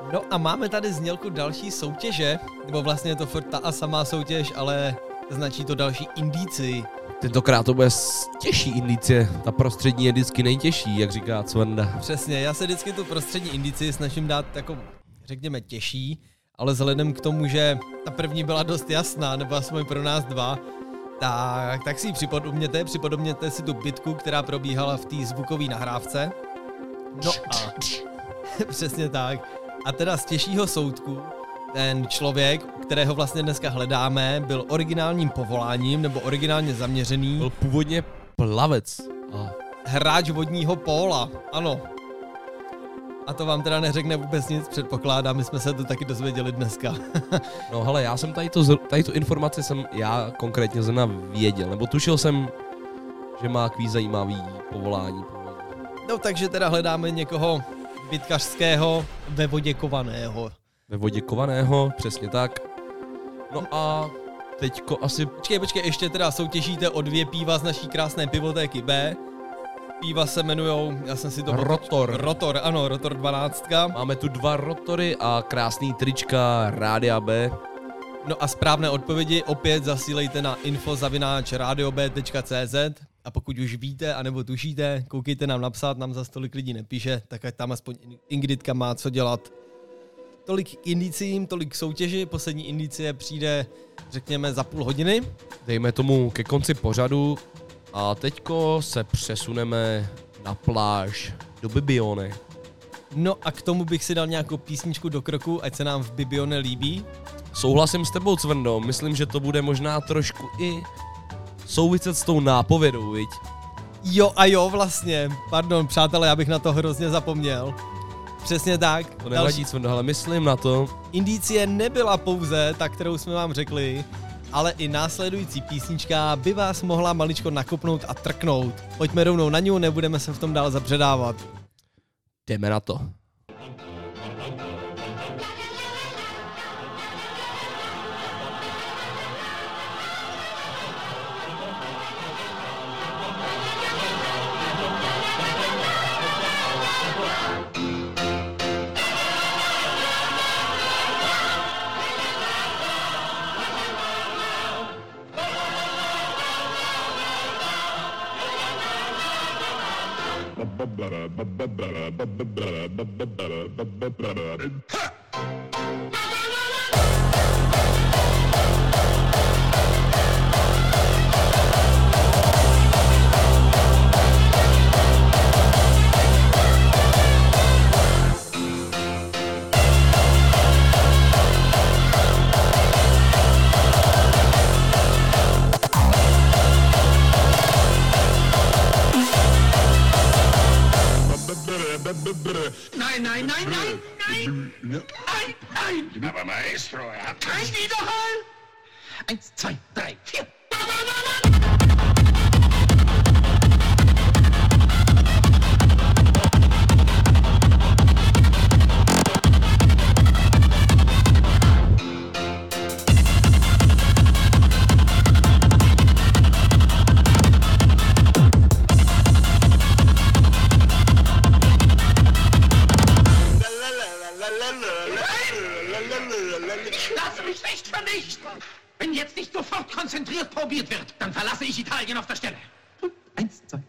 No a máme tady znělku další soutěže, nebo vlastně je to furt ta a samá soutěž, ale značí to další indici. Tentokrát to bude těžší indicie, ta prostřední je vždycky nejtěžší, jak říká Cvenda. Přesně, já se vždycky tu prostřední indici snažím dát jako, řekněme, těžší, ale vzhledem k tomu, že ta první byla dost jasná, nebo aspoň pro nás dva, tak si ji připodobněte si tu bitku, která probíhala v té zvukové nahrávce. No a přesně tak. A teda z těžšího soudku ten člověk, kterého vlastně dneska hledáme, byl originálním povoláním nebo originálně zaměřený. Byl původně plavec. Hráč vodního póla, ano. A to vám teda neřekne vůbec nic, předpokládám, my jsme se to taky dozvěděli dneska. No hele, já jsem tady tu informaci jsem já konkrétně zrovna věděl, nebo tušil jsem, že má takový zajímavý povolání. No takže teda hledáme někoho bitkařského ve vodě kovaného. Ve vodě kovaného, přesně tak. No a teďko asi... Počkej, ještě teda soutěžíte o 2 piva z naší krásné pivotéky B. Piva se jmenujou, já jsem si to... Rotor, ano, Rotor 12. Máme tu 2 rotory a krásný trička Rádia B. No a správné odpovědi opět zasílejte na info@radiob.cz a pokud už víte anebo tušíte, koukejte nám napsat, nám za tolik lidí nepíše, tak ať tam aspoň Ingridka má co dělat. Tolik k indicím, tolik k soutěži, poslední indicie přijde, řekněme, za půl hodiny. Dejme tomu ke konci pořadu a teďko se přesuneme na pláž do Bibione. No a k tomu bych si dal nějakou písničku do kroku, ať se nám v Bibione líbí. Souhlasím s tebou, Cvendo, myslím, že to bude možná trošku i souviset s tou nápovědou, viď? Jo, vlastně. Pardon, přátelé, já bych na to hrozně zapomněl. Přesně tak. To nevadí, Cvendo, ale myslím na to. Indicie nebyla pouze ta, kterou jsme vám řekli, ale i následující písnička by vás mohla maličko nakopnout a trknout. Pojďme rovnou na ní, nebudeme se v tom dál zabředávat. Jdeme na to. Nein! Aber Maestro, er hat kein Widerhall! 1, 2, 3, 4! Lass mich nicht vernichten! Wenn jetzt nicht sofort konzentriert probiert wird, dann verlasse ich Italien auf der Stelle. 1, 2.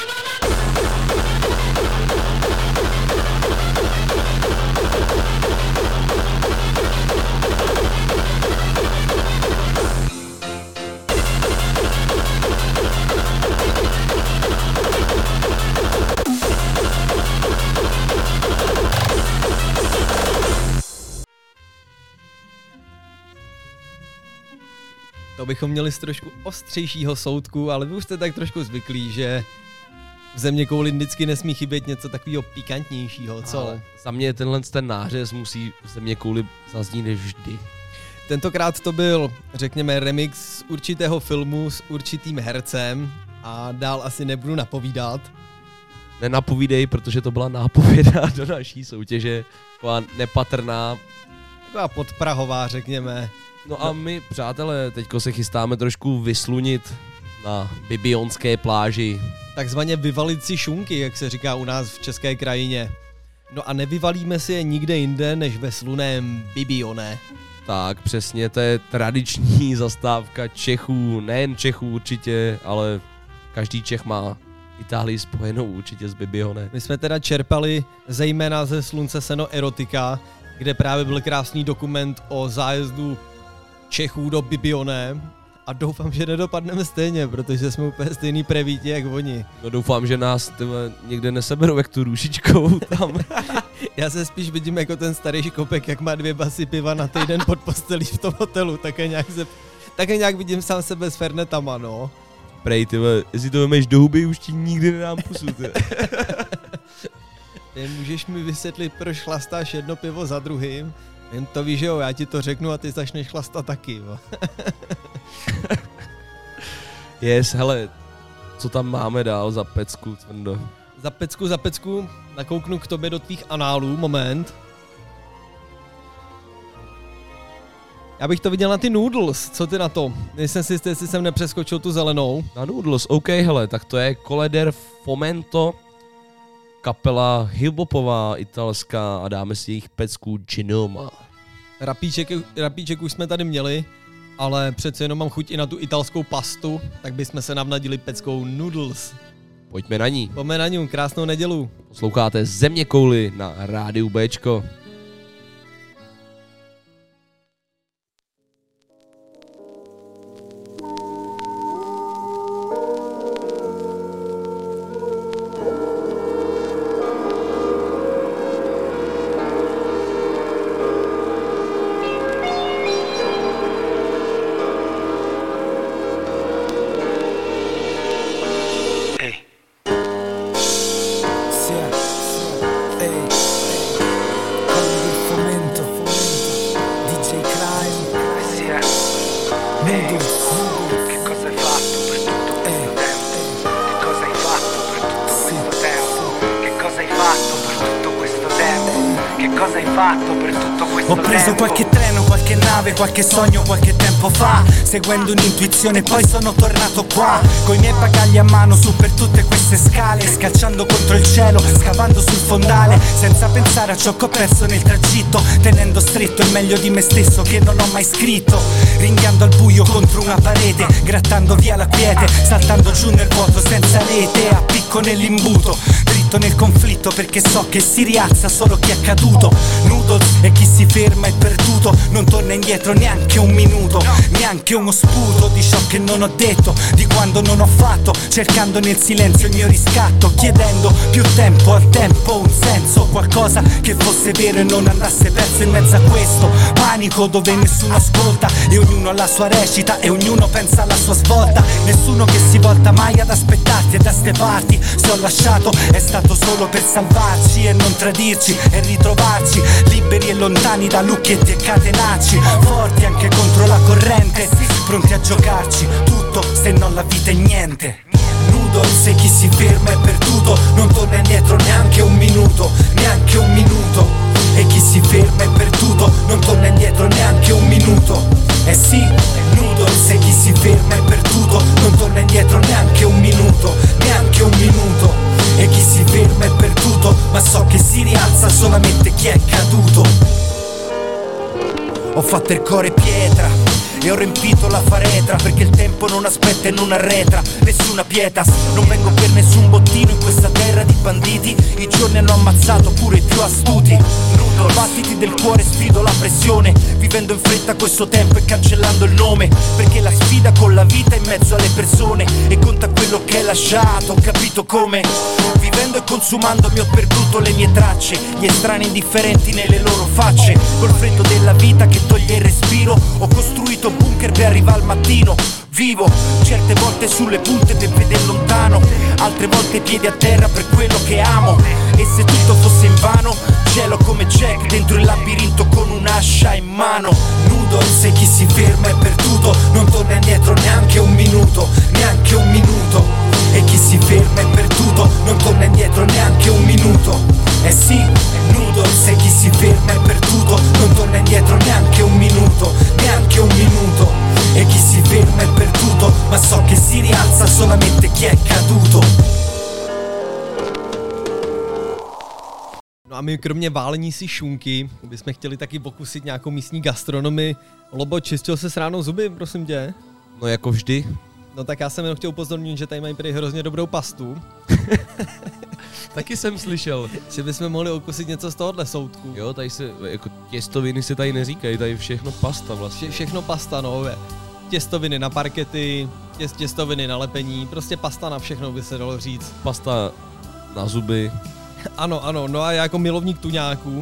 To bychom měli z trošku ostřejšího soudku, ale vy už jste tak trošku zvyklí, že v zeměkouli vždycky nesmí chybět něco takového pikantnějšího, co? Ale za mě ten nářez musí v zeměkouli zaznít vždy. Tentokrát to byl, řekněme, remix z určitého filmu s určitým hercem a dál asi nebudu napovídat. Nenapovídej, protože to byla nápověda do naší soutěže, taková nepatrná. Taková podprahová, řekněme. No a my, přátelé, teďko se chystáme trošku vyslunit na bibionské pláži. Takzvaně vyvalit si šunky, jak se říká u nás v české krajině. No a nevyvalíme si je nikde jinde, než ve sluném Bibione. Tak, přesně, to je tradiční zastávka Čechů, nejen Čechů určitě, ale každý Čech má Itálii spojenou určitě s Bibione. My jsme teda čerpali zejména ze Slunce seno erotika, kde právě byl krásný dokument o zájezdu Čechů do Bibione a doufám, že nedopadneme stejně, protože jsme úplně stejný prevíti jak oni. No doufám, že nás někde neseberou jak tu růžičkou tam. Já se spíš vidím jako ten starý škopek, jak má 2 basy piva na týden pod postelí v tom hotelu, také nějak vidím sám sebe s Fernetama, no. Prej, tyhle, jestli to vemeš do huby, už ti nikdy nedám pusu, Můžeš mi vysvětlit, proč chlastáš jedno pivo za druhým? Jen to víš, že jo, já ti to řeknu a ty začneš chlastat taky, jo. Yes, hele, co tam máme dál za pecku, Cvrndo? Za pecku, nakouknu k tobě do tvých análů, moment. Já bych to viděl na ty noodles, co ty na to? Nejsem si jistý, jestli jsem nepřeskočil tu zelenou. Na noodles, OK, hele, tak to je Colle del Fomento, kapela hiphopová italská a dáme si jejich pecku Genoma. Rapíček už jsme tady měli, ale přece jenom mám chuť i na tu italskou pastu, tak bychom se navnadili peckou noodles. Pojďme na ní. Pojďme na ní, krásnou nedělu. Posloucháte Zeměkouli na rádiu Bčko. Ho preso qualche treno, qualche nave, qualche sogno qualche tempo fa, seguendo un'intuizione poi sono tornato qua, coi miei bagagli a mano su per tutte queste scale, scacciando contro il cielo, scavando sul fondale, senza pensare a ciò che ho perso nel tragitto, tenendo stretto il meglio di me stesso che non ho mai scritto, ringhiando al buio contro una parete, grattando via la quiete, saltando giù nel vuoto senza rete, a picco nell'imbuto, dritto nel conflitto perché so che si rialza solo chi è caduto, noodles e chi si ferma è perduto, non torna indietro neanche un minuto, neanche uno sputo di ciò che non ho detto, di quando non ho fatto, cercando nel silenzio il mio riscatto, chiedendo più tempo al tempo, un senso, qualcosa che fosse vero e non andasse perso in mezzo a questo panico dove nessuno ascolta e ognuno ha la sua recita e ognuno pensa alla sua svolta, nessuno che si volta mai ad aspettarti e da ste parti, se ho lasciato è stato solo per salvarci e non tradirci e ritrovarci, liberi e lontani da lucchetti e catenacci, forti anche contro la corrente, pronti a giocarci tutto se non la vita è niente. Noodles e chi si ferma è perduto, non torna indietro neanche un minuto, neanche un minuto. E chi si ferma è perduto, non torna indietro neanche un minuto. Eh sì, noodles e chi si ferma è perduto, non torna indietro neanche un minuto, neanche un minuto. E chi si ferma è perduto, ma so che si rialza solamente chi è caduto. Ho fatto il cuore pietra e ho riempito la faretra, perché il tempo non aspetta e non arretra, nessuna pietas, non vengo per nessun bottino in questa terra di banditi, i giorni hanno ammazzato pure i più astuti. Battiti del cuore, sfido la pressione, vivendo in fretta questo tempo e cancellando il nome, perché la sfida con la vita è in mezzo alle persone e conta quello che hai lasciato, ho capito come. Vivendo e consumandomi ho perduto le mie tracce, gli estranei indifferenti nelle loro facce, col freddo della vita che toglie il respiro, ho costruito bunker per arrivare al mattino. Vivo certe volte sulle punte per vedere lontano, altre volte i piedi a terra per quello che amo. E se tutto fosse invano, cielo come Jack dentro il labirinto con un'ascia in mano. Noodles e chi si ferma è perduto, non torna indietro neanche un minuto, neanche un minuto. E chi si ferma è perduto, non torna indietro neanche un minuto. Eh sì, noodles e chi si ferma è perduto, non torna indietro neanche un minuto, neanche un minuto. E chi si ferma è perduto, ma so che si rialza solamente chi è caduto. No a my kromě válení si šunky bychom chtěli taky pokusit nějakou místní gastronomii. Lobo, čistil se ráno zuby, prosím tě? No jako vždy. No tak já jsem jenom chtěl upozornit, že tady mají prý hrozně dobrou pastu. Taky jsem slyšel. Že bychom mohli okusit něco z tohohle soudku. Jo, tady se, jako těstoviny se tady neříkají, tady všechno pasta vlastně. Všechno pasta, no. Těstoviny na parkety, těstoviny na lepení, prostě pasta na všechno by se dalo říct. Pasta na zuby. Ano, no a já jako milovník tuňáků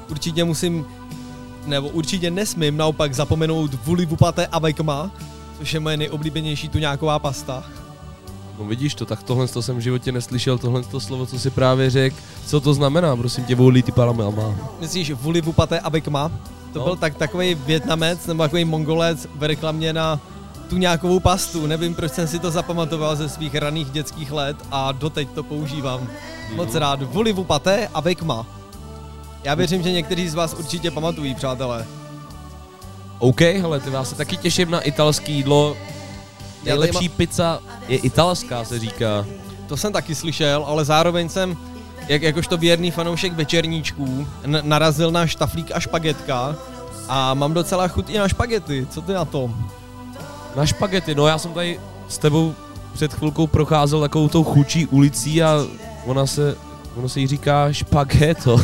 určitě nesmím naopak zapomenout voulez-vous pâté avec moi, což je moje nejoblíbenější tuňáková pasta. No vidíš to, tak tohle jsem v životě neslyšel, tohle slovo, co si právě řekl. Co to znamená, prosím tě, voulez-vous pâté avec moi? Myslíš voulez-vous pâté avec moi? To byl takový Vietnamec nebo takový Mongolec v reklamě na tuňákovou pastu. Nevím, proč jsem si to zapamatoval ze svých raných dětských let a doteď to používám. Moc rád. Voulez-vous pâté avec moi? Já věřím, že někteří z vás určitě pamatují, přátelé. OK, hele, ty vás se taky těším na italský jídlo. Nejlepší pizza je italská, se říká. To jsem taky slyšel, ale zároveň jsem, jakožto věrný fanoušek večerníčků, narazil na štaflík a špagetka a mám docela chuť i na špagety. Co ty na to? Na špagety, no já jsem tady s tebou před chvilkou procházel takovou tou chůčí ulicí a ono se jí říká špageto.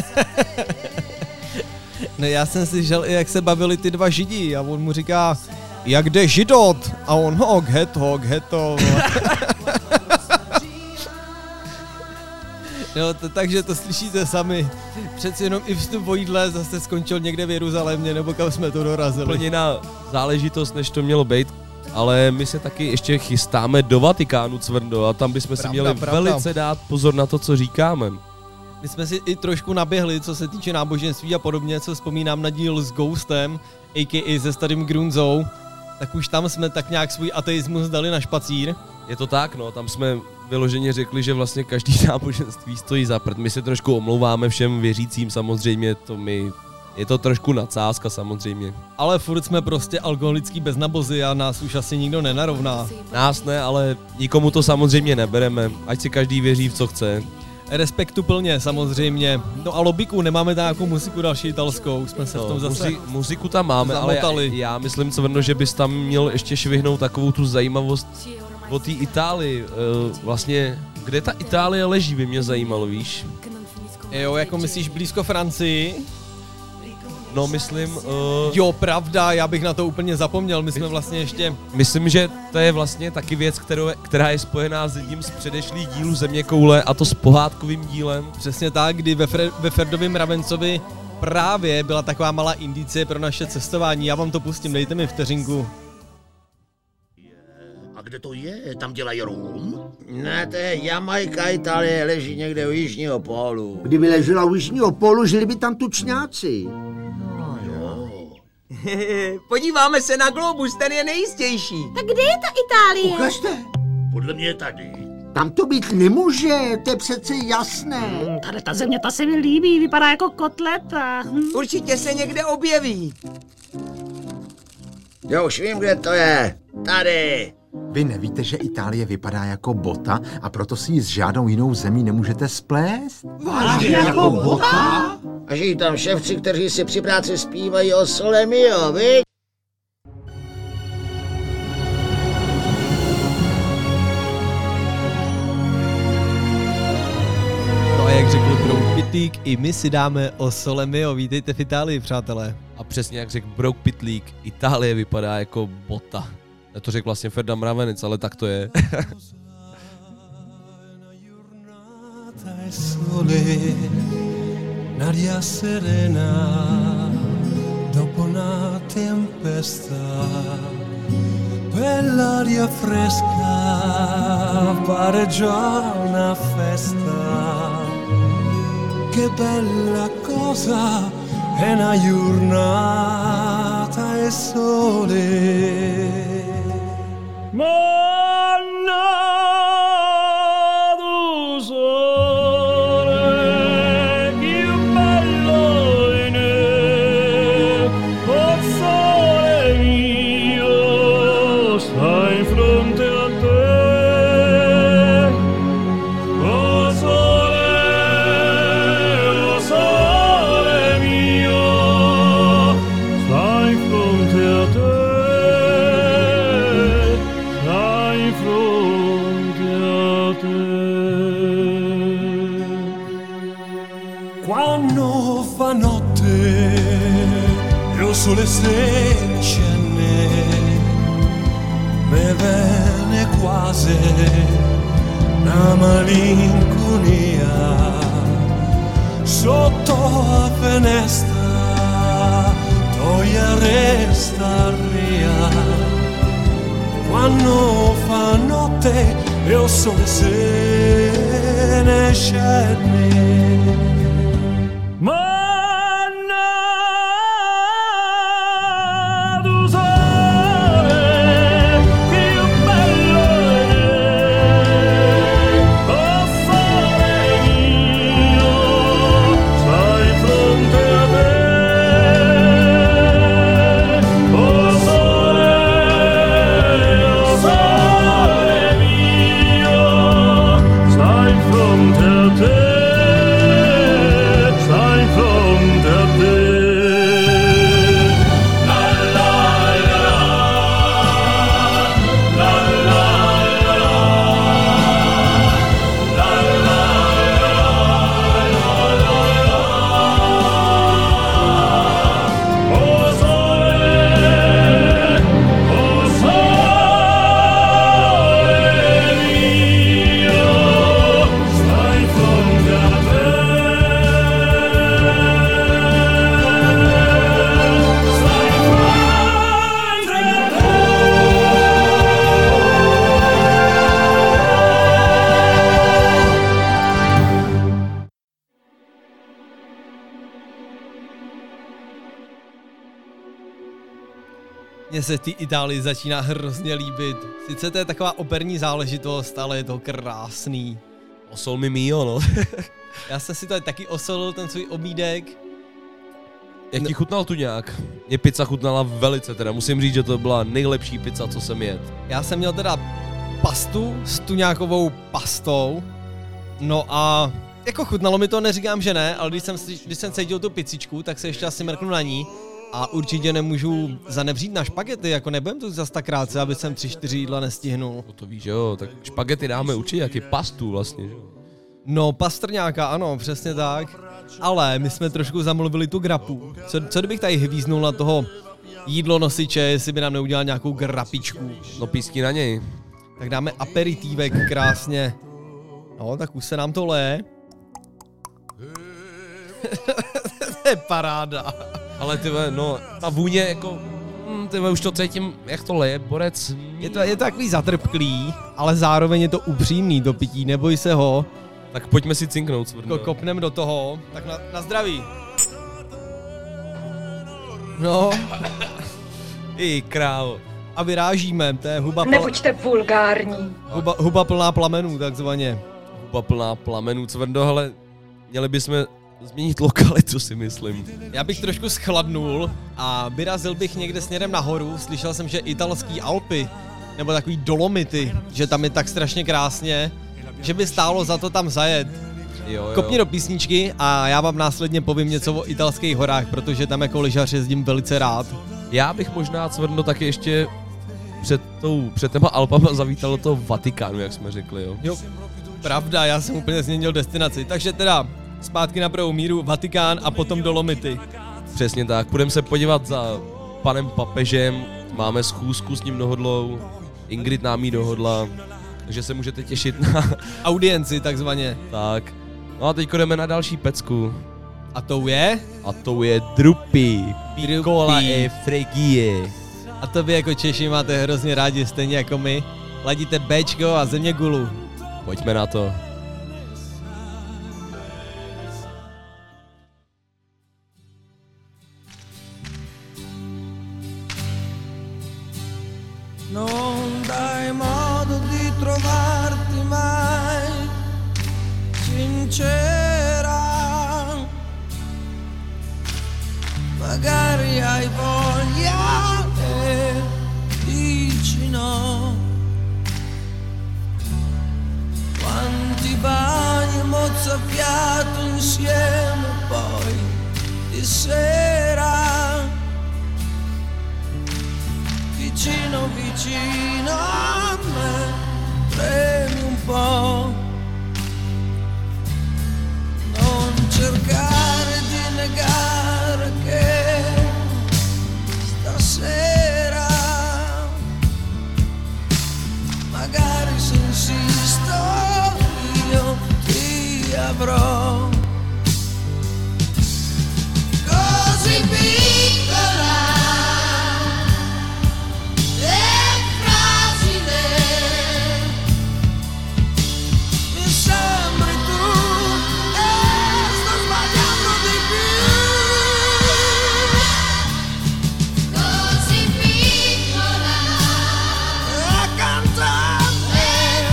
Ne, já jsem slyšel i jak se bavili ty dva židi a on mu říká, jak jde židot? A on ghetto. No, takže to slyšíte sami. Přeci jenom i vstup o jídle zase skončil někde v Jeruzalémě, nebo kam jsme to dorazili. Úplně jiná záležitost, než to mělo být. Ale my se taky ještě chystáme do Vatikánu, Cvrndo, a tam bychom si měli velice dát pozor na to, co říkáme. My jsme si i trošku naběhli, co se týče náboženství a podobně, co vzpomínám na díl s Ghostem, a.k.a. se starým Grunzou, tak už tam jsme tak nějak svůj ateismus dali na špacír. Je to tak, no, tam jsme vyloženě řekli, že vlastně každý náboženství stojí za prd. My se trošku omlouváme všem věřícím, samozřejmě, je to trošku nadsázka samozřejmě. Ale furt jsme prostě alkoholický beznabozy a nás už asi nikdo nenarovná. Nás ne, ale nikomu to samozřejmě nebereme, ať si každý věří v co chce. Respektu plně, samozřejmě. No a Lobiku, nemáme tam nějakou muziku další italskou, jsme se v tom zase muziku tam máme, zamotali. Ale já myslím, Cvrno, že bys tam měl ještě švihnout takovou tu zajímavost o té Itálii. Vlastně, kde ta Itálie leží, by mě zajímalo, víš? Jo, jako myslíš blízko Francii? No, myslím... Jo, pravda, já bych na to úplně zapomněl, my jsme vlastně ještě... Myslím, že to je vlastně taky věc, která je spojená s jedním z předešlých dílů Zeměkoule, a to s pohádkovým dílem. Přesně tak, kdy ve Ferdovém Ravencovi právě byla taková malá indicie pro naše cestování. Já vám to pustím, dejte mi vteřinku. A kde to je? Tam dělají rum? Ne, to je Jamajka, Itálie, leží někde u jižního pólu. Kdyby ležela u jižního pólu, žili by tam tučňáci. Podíváme se na globus, ten je nejistější. Tak kde je ta Itálie? Ukažte. Podle mě je tady. Tam to být nemůže, to je přece jasné. Tady ta země, ta se mi líbí, vypadá jako kotleta. Určitě se někde objeví. Jo, už vím, kde to je. Tady. Vy nevíte, že Itálie vypadá jako bota a proto si ji s žádnou jinou zemí nemůžete splést? Vážně jako bota? A žijí tam ševci, kteří si při práci zpívají o Sole Mio, viď? No a jak řekl Brouk Pitlík, i my si dáme o Sole Mio. Vítejte v Itálii, přátelé. A přesně jak řekl Brouk Pitlík, Itálie vypadá jako bota. Já to řekl vlastně Ferda Mravenec, ale tak to je. N'aria serena dopo una tempesta, quell'aria fresca pare già una festa. Che bella cosa è una giornata e sole. Oh Quando fa notte e il sole se scende, me viene quasi una malinconia sotto la finestra, toglia resta via. Quando fa notte e il sole se ne scende. Mně se ty Itálii začíná hrozně líbit. Sice to je taková operní záležitost, ale je to krásný. Osol mi mio, no. Já jsem si to taky osolil, ten svůj obídek. Jak ti chutnal tu nějak? Mě pizza chutnala velice, teda musím říct, že to byla nejlepší pizza, co jsem jedl. Já jsem měl teda pastu s tuňákovou pastou. No a jako chutnalo mi to, neříkám, že ne, ale když jsem cítil tu pizzičku, tak se ještě asi mrknu na ní. A určitě nemůžu zanevřít na špagety, jako nebudem tu zas tak krátce, aby jsem 3-4 jídla nestihnul. No to víš, jo, tak špagety dáme určitě, jak je pastu vlastně, že? No, pastrňáka, ano, přesně tak. Ale my jsme trošku zamluvili tu grapu. Co kdybych tady hvíznul na toho jídlo nosiče, jestli by nám neudělal nějakou grapičku? No písky na něj. Tak dáme aperitívek krásně. No, tak už se nám to leje. To je paráda. Ale tyve, no, ta vůně jako, tyve, už to cítím, jak to leje, borec. Je to takový zatrpklý, ale zároveň je to upřímný to pití, neboj se ho. Tak pojďme si cinknout, Cvrndo. Kopnem do toho, tak na zdraví. No. Ty krávo. A vyrážíme, to je huba... Nebuďte vulgární. Huba plná plamenů, takzvaně. Huba plná plamenů, Cvrndo, ale měli bychom změnit lokalitu, si myslím. Já bych trošku schladnul a vyrazil bych někde směrem nahoru. Slyšel jsem, že italský Alpy, nebo takový Dolomity, že tam je tak strašně krásně, že by stálo za to tam zajet. Jo. Kopni do písničky a já vám následně povím něco o italských horách, protože tam jako lyžař jezdím velice rád. Já bych možná, Cvrndo, taky ještě před těma Alpama zavítal do toho Vatikánu, jak jsme řekli, jo. Jo, pravda, já jsem úplně změnil destinaci, takže teda zpátky na pravou míru, Vatikán a potom Dolomity. Přesně tak, půjdeme se podívat za panem papežem, máme schůzku s ním dohodlou, Ingrid nám ji dohodla, takže se můžete těšit na audienci takzvaně. Tak, no a teď jdeme na další pecku. A tou je? A tou je Drupy, Piccola e Fregie. A to vy jako Češi máte hrozně rádi, stejně jako my. Ladíte Bčko a země gulu. Pojďme na to. Non dai modo di trovarti mai sincera, magari hai voglia e dici no. Quanti bagni mozzafiato insieme poi di sera, vicino vicino a me, premi un po', non cercare avrò. Così piccola e fragile, mi sembri tu e sto sbagliando di più. Così piccola accanto a me,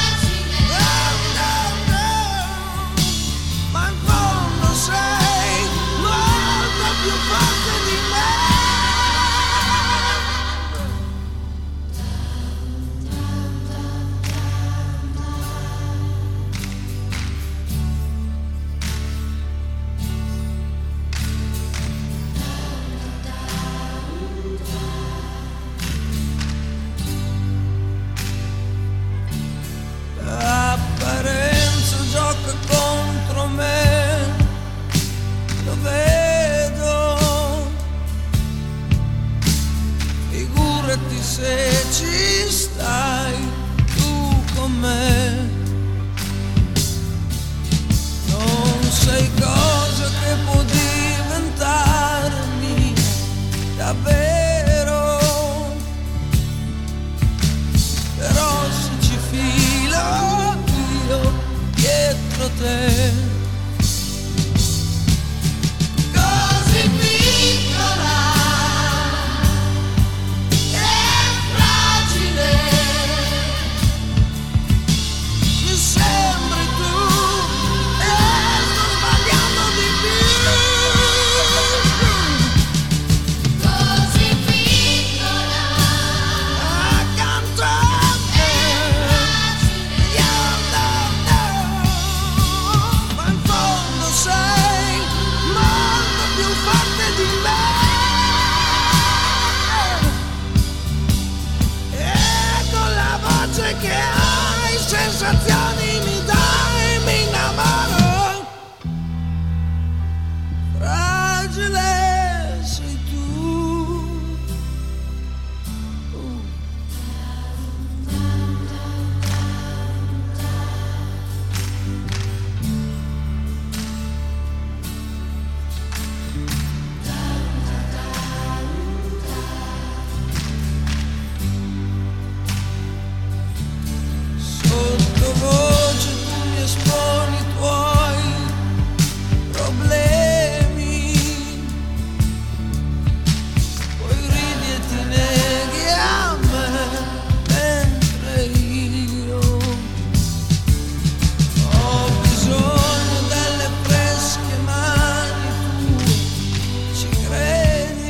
ma in fondo sei molto più forte di me. L'apparenza gioca contro me, lo vedo. Figurati se ci stai tu con me. Non sei cosa che può diventarmi davvero, però se ci filo io dietro te. Così piccola e fragile, mi sembri tu e sto sbagliando di più. Così piccola accanto a me, ma in fondo sei molto più forte di me. E con la voce che hai, sensazioni mi dai, mi innamoro. Fragile sei tu. Sottovoce tu mi esponi i tuoi problemi, poi ridi e ti neghi a me, mentre io ho bisogno delle fresche mani tue, ci credi?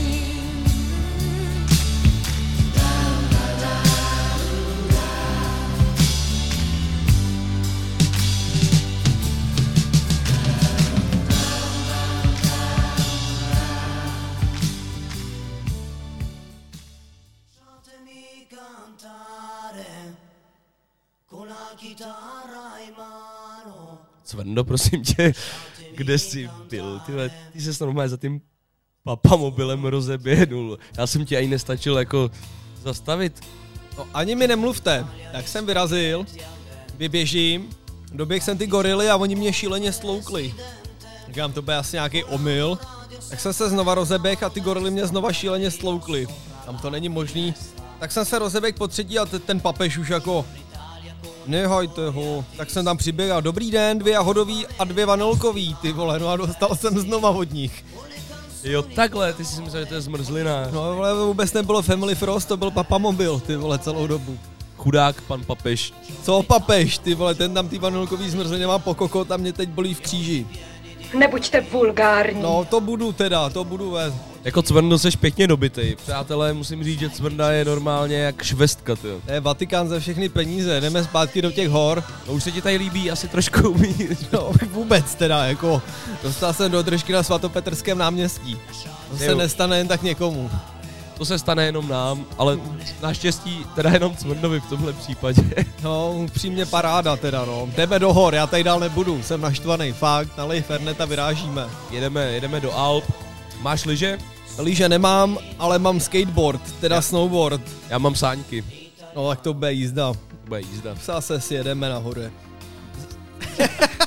Fatemi cantare con la chitarra in mano. Cvrndo, prosím tě, kde jsi byl? Ty ses normálně za tím papamobilem rozeběhnul. Já jsem ti ani nestačil jako zastavit. No, ani mi nemluvte. Tak jsem vyrazil, vyběžím, doběh jsem ty gorily a oni mě šíleně stloukli. Říkám, to bude asi nějaký omyl. Tak jsem se znova rozeběh a ty gorily mě znova šíleně stloukli. Tam to není možný. Tak jsem se rozeběh po třetí a ten papež už jako... Nehajte ho. Tak jsem tam přiběhl, dobrý den, 2 jahodový a 2 vanilkový, ty vole, no a dostal jsem znova od nich. Jo, takhle, ty jsi myslel, že to je zmrzlina. No vole, vůbec nebylo Family Frost, to byl papamobil, ty vole, celou dobu. Chudák pan papež. Co papež, ty vole, ten tam ty vanilkový zmrzliny má po kokot a mě teď bolí v kříži. Nebuďte vulgární. No, to budu vést. Jako Cvrndo seš pěkně dobitej. Přátelé, musím říct, že Cvrnda je normálně jak švestka, tyjo. To je Vatikán za všechny peníze, jdeme zpátky do těch hor. No už se ti tady líbí asi trošku umít. No vůbec teda, jako dostal jsem do držky na Svatopetrském náměstí. To se nestane jen tak někomu. To se stane jenom nám, ale naštěstí teda jenom Cvrndovi v tomhle případě. No, upřímně paráda teda, no. Jdeme do hor, já tady dál nebudu, jsem naštvaný, fakt, nalej Fernet a vyrážíme. Jedeme do Alp. Máš lyže? Lyže nemám, ale mám skateboard, teda snowboard. Já mám sáňky. No, tak to bude jízda. Bude jízda. Zase si jedeme nahoře.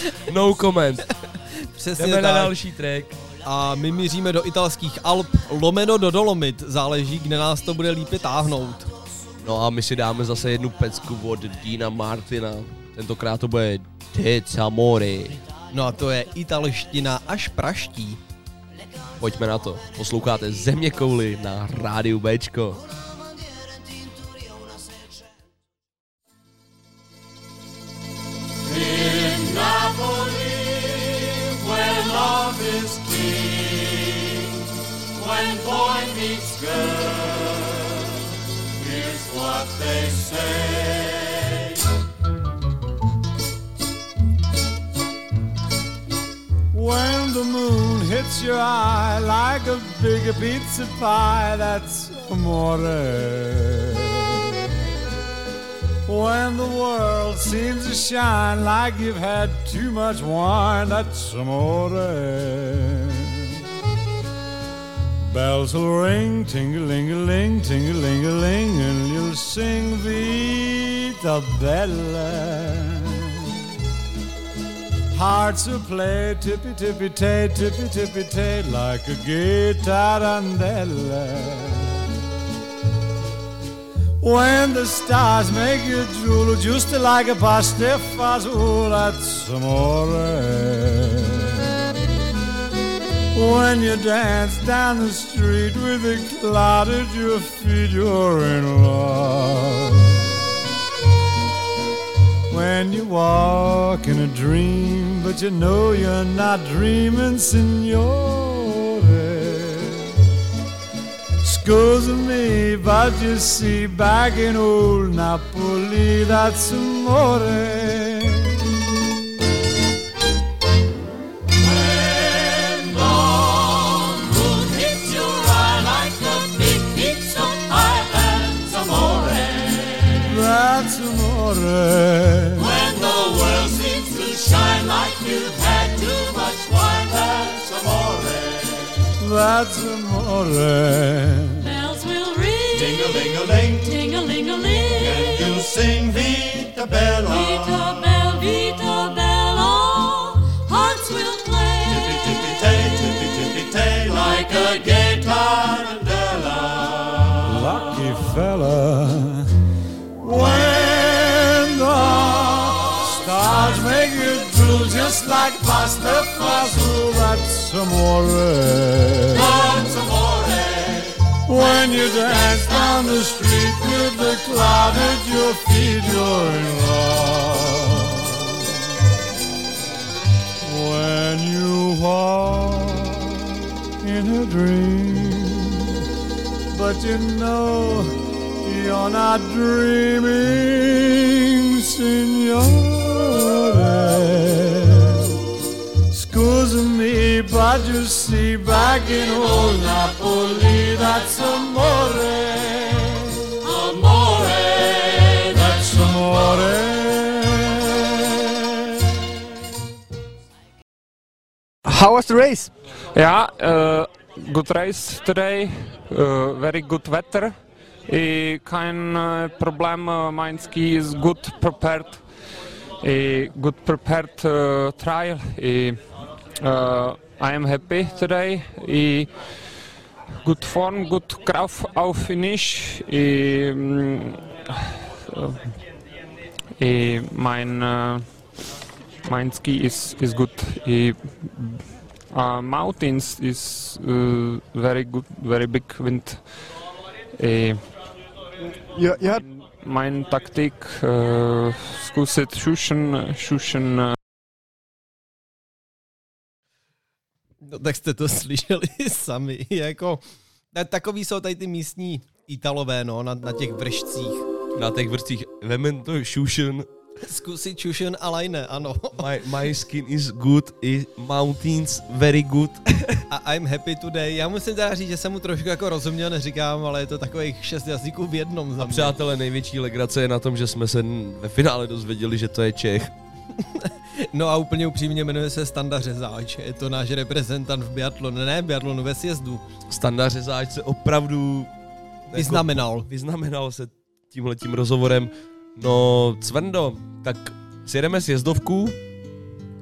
No comment. Přesně Jdeme tak. na další track. A my míříme do italských Alp, lomeno do Dolomit, záleží, kde nás to bude lípě táhnout. No a my si dáme zase jednu pecku od Dina Martina. Tentokrát to bude Tez Amore. No a to je italština až praští. Pojďme na to. Posloucháte Zeměkouli na rádiu Bčko. In Napoli, where love is king, when boy meets girl, here's what they say. When the moon hits your eye like a big pizza pie, that's amore. When the world seems to shine like you've had too much wine, that's amore. Bells will ring, ting-a-ling-a-ling, ting-a-ling-a-ling, and you'll sing Vita Bella. Hearts will play tippy-tippy-tay, tippy-tippy-tay, like a gay tarantella. When the stars make you drool, just like a pasta fazool, that's amore. When you dance down the street with a cloud at your feet, you're in love. When you walk in a dream, but you know you're not dreaming, signore. Excuse me, but you see, back in old Napoli, that's amore. When the moon hits your eye like a big pizza pie, that's amore. That's amore. When the world seems to shine like you've had too much wine, that's amore. That's amore. Bells will ring, Ding-a-ling-a-ling, ting-a-ling-a-ling, and you'll sing Vita Bella. Vita Bella, Vita Bella. Hearts will play, Tippy-tippy-tay, tippy-tippy-tay, like a gay tarantella. Lucky fella. When the stars make you drool just like pasta fazool, that's amore. That's amore. When you dance down the street with the cloud at your feet, you're in love. When you walk in a dream, but you know you're not dreaming, signore. Excuse me, but you see, back in old Napoli, that's amore. Amore, That's amore. How was the race? Yeah, good race today. Very good weather. Kein Problem. Mein ski is good prepared. Good prepared trial. I am happy today. Good form, good Kraft auf Finish. Mein ski is good. Mountains is very good, very big wind. Mein Taktik zkusit šušen. No tak jste to slyšeli sami, jako takový jsou tady ty místní Italové, no, na těch vršcích. Na těch vršcích, vemen to šušen. Zkusit šušen a lajne, ano. My skin is good, mountains very good. A I'm happy today. Já musím teda říct, že jsem mu trošku jako rozuměl, neříkám, ale je to takových 6 jazyků v jednom. A přátelé, největší legrace je na tom, že jsme se ve finále dozvěděli, že to je Čech. No a úplně upřímně jmenuje se Standa Řezáč. Je to náš reprezentant v biatlonu, ne v biatlonu, ve sjezdu. Standa Řezáč se opravdu vyznamenal se tímhletím rozhovorem. No, Cvendo, tak sjedeme sjezdovku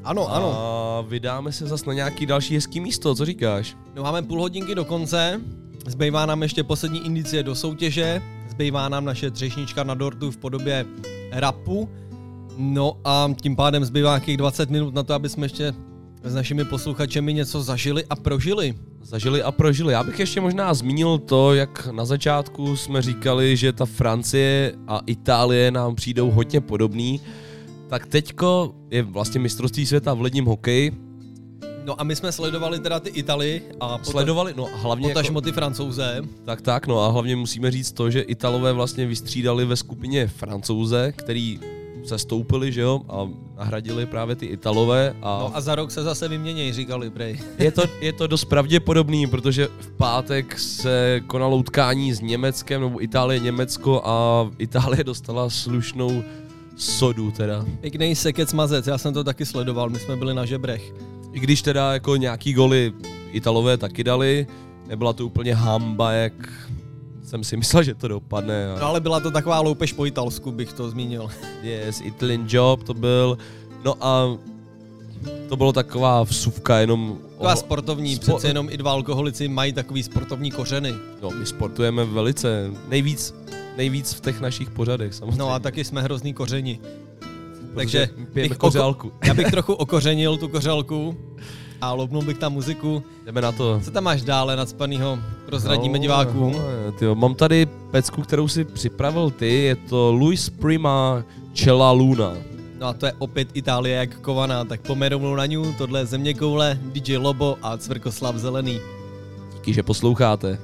Ano, ano. A vydáme se zas na nějaký další hezký místo, co říkáš? No máme půl hodinky do konce, zbývá nám ještě poslední indicie do soutěže, zbývá nám naše třešnička na dortu v podobě rapu, no a tím pádem zbývá nějakých 20 minut na to, aby jsme ještě s našimi posluchačemi něco zažili a prožili. Já bych ještě možná zmínil to, jak na začátku jsme říkali, že ta Francie a Itálie nám přijdou hodně podobný, tak teďko je vlastně mistrovství světa v ledním hokeji. No a my jsme sledovali teda ty Italy a hlavně potažmo ty Francouze. Tak, no a hlavně musíme říct to, že Italové vlastně vystřídali ve skupině Francouze, který se stoupili, že jo, a nahradili právě ty Italové. No a za rok se zase vyměnějí, říkali prej. Je to dost pravděpodobný, protože v pátek se konalo utkání s Německem, nebo Itálie-Německo a Itálie dostala slušnou sodu teda. Pěknej sekec mazec, já jsem to taky sledoval, my jsme byli na žebrech. I když teda jako nějaký goly Italové taky dali, nebyla to úplně hamba, jak jsem si myslel, že to dopadne. No ale byla to taková loupež po italsku, bych to zmínil. Yes, Italian job to byl. No a to bylo taková vsuvka jenom... Taková sportovní, přece jenom i dva alkoholici mají takový sportovní kořeny. No, my sportujeme velice, nejvíc v těch našich pořadech samozřejmě. No a taky jsme hrozný kořeni. Takže já bych trochu okořenil tu kořelku a loupnul bych tam muziku. Jdeme na to. Co tam máš dále nadspanýho? Prozradíme divákům. Tyjo, mám tady pecku, kterou si připravil ty, je to Luis Prima Cella Luna. No a to je opět Itálie jak kovaná, tak pojďme rovnou na ňu, tohle je Zeměkoule, DJ Lobo a Cvrkoslav Zelený. Díky, že posloucháte.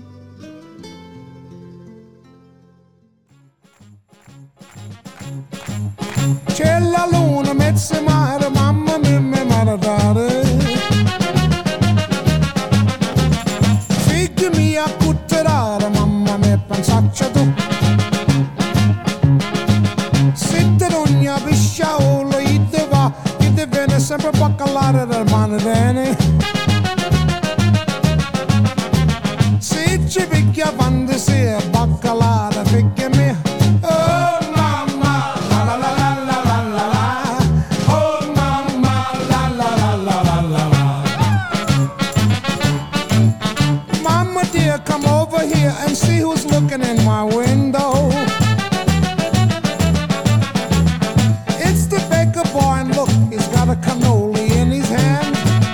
C'è la luna, mezza mare, mamma mia, mi maradare. Figli mia, cutterare, mamma mia, pensaccia tu. Sitte d'ogni pisciaolo, ite va, ite viene sempre baccalare del mano bene. Se ci picchia fantasia, baccalare, figli mia. Come over here and see who's looking in my window. It's the baker boy and look, he's got a cannoli in his hand.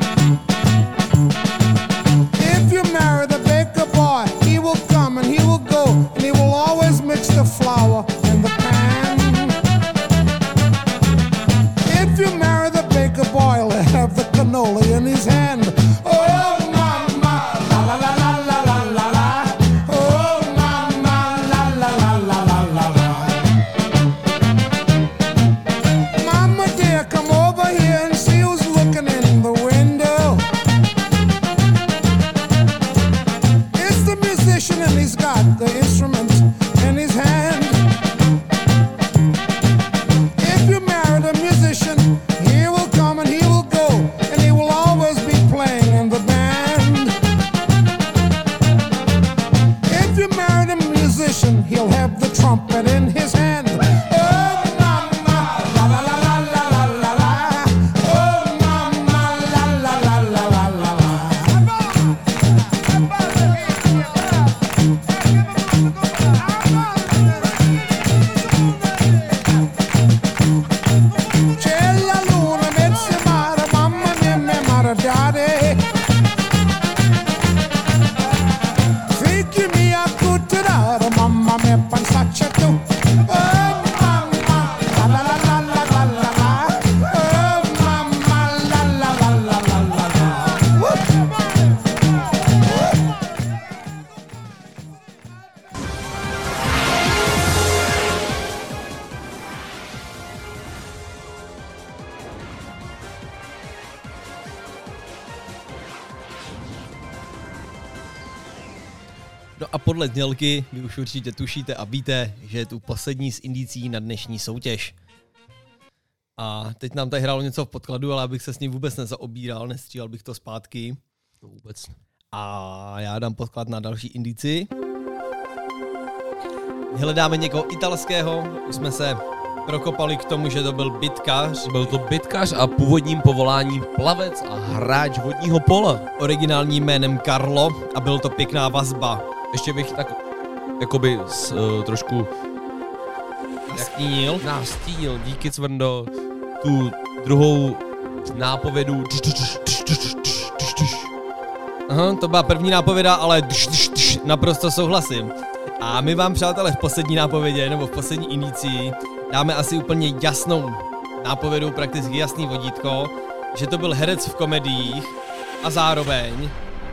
If you marry the baker boy, he will come and he will go, and he will always mix the flour in the pan. If you marry the baker boy, he'll have the cannoli in his hand. Oh, mama, la la la la la la la la. Oh, mama, la la la la la la la. Mama dear, come over here and see who's looking in the window. It's the musician and he's got the instrument in his hand. If you marry the musician, he will come and he will go, and he will always be playing in the band. If you marry the musician, he'll have the trumpet in his hand. Oh, mama, la la la la la la la la. Oh, mama, la la la la la la la. C'è la luna, mezza mare, mamma mia, mi maradare. Figli mia, cutterare, mamma mia, pensaccia tu. Oh, mamma, la la la la la la la la. Oh, mamma, la la la la la la la. No a podle znělky vy už určitě tušíte a víte, že je tu poslední z indicí na dnešní soutěž. A teď nám tady hrálo něco v podkladu, ale abych se s ním vůbec nezaobíral, nestřílel bych to zpátky. No vůbec. A já dám podklad na další indici. Hledáme někoho italského, už jsme se prokopali k tomu, že to byl bitkař. Byl to bitkař a původním povoláním plavec a hráč vodního pola. Originálním jménem Karlo a byl to pěkná vazba. Ještě bych tak jakoby trošku nastínil, díky Cvrndo, tu druhou nápovědu. Aha, to byla první nápověda, ale naprosto souhlasím. A my vám, přátelé, v poslední nápovědě, nebo v poslední indicii, dáme asi úplně jasnou nápovědu, prakticky jasný vodítko, že to byl herec v komediích a zároveň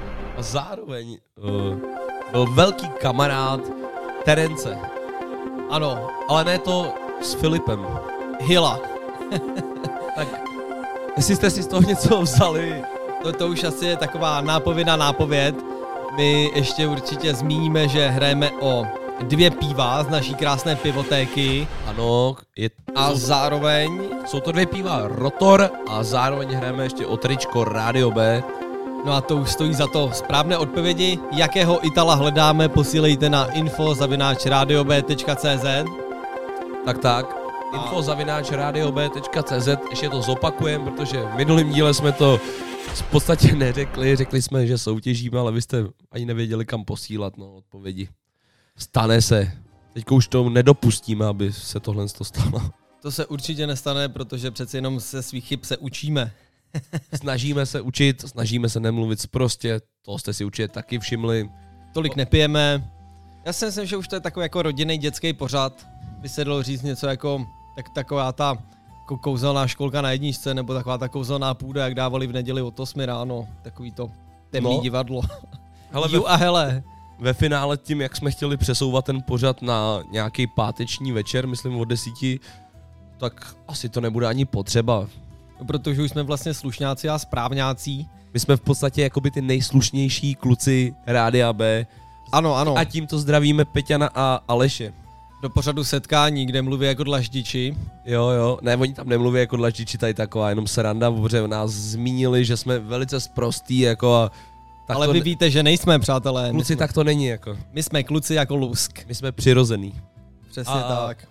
byl velký kamarád Terence. Ano. Ale ne to s Filipem. Hilla. Tak, jestli jste si z toho něco vzali. To už asi je taková nápověd. My ještě určitě zmíníme, že hrajeme o 2 piva z naší krásné pivotéky. Ano. Zároveň jsou to 2 piva Rotor a zároveň hrajeme ještě o tričko Rádio B. No a to už stojí za to. Správné odpovědi, jakého Itala hledáme, posílejte na info@radiob.cz. Tak. info@radiob.cz. Ještě to zopakujeme, protože v minulém díle jsme to v podstatě neřekli. Řekli jsme, že soutěžíme, ale vy jste ani nevěděli, kam posílat odpovědi. Stane se. Teďka už to nedopustíme, aby se tohle stalo. To se určitě nestane, protože přeci jenom se svých chyb se učíme. Snažíme se učit, snažíme se nemluvit sprostě, to jste si určitě taky všimli. Tolik nepijeme. Já si myslím, že už to je takový jako rodinný dětský pořad. By se dalo říct něco jako taková ta jako kouzelná školka na jedničce, nebo taková ta kouzelná půda, jak dávali v neděli od 8 ráno. Takový to temný divadlo. Hele, ve finále tím, jak jsme chtěli přesouvat ten pořad na nějaký páteční večer, myslím od 10, tak asi to nebude ani potřeba. Protože už jsme vlastně slušňáci a správňáci. My jsme v podstatě jakoby ty nejslušnější kluci Rádia B. Ano. A tímto zdravíme Peťana a Aleše. Do pořadu setkání, kde mluví jako dlaždiči. Jo. Ne, oni tam nemluví jako dlaždiči, tady taková jenom sranda, protože nás zmínili, že jsme velice sprostí, jako ale vy víte, že nejsme, přátelé. Kluci, tak to není, jako. My jsme kluci jako lusk. My jsme přirozený. Přesně tak.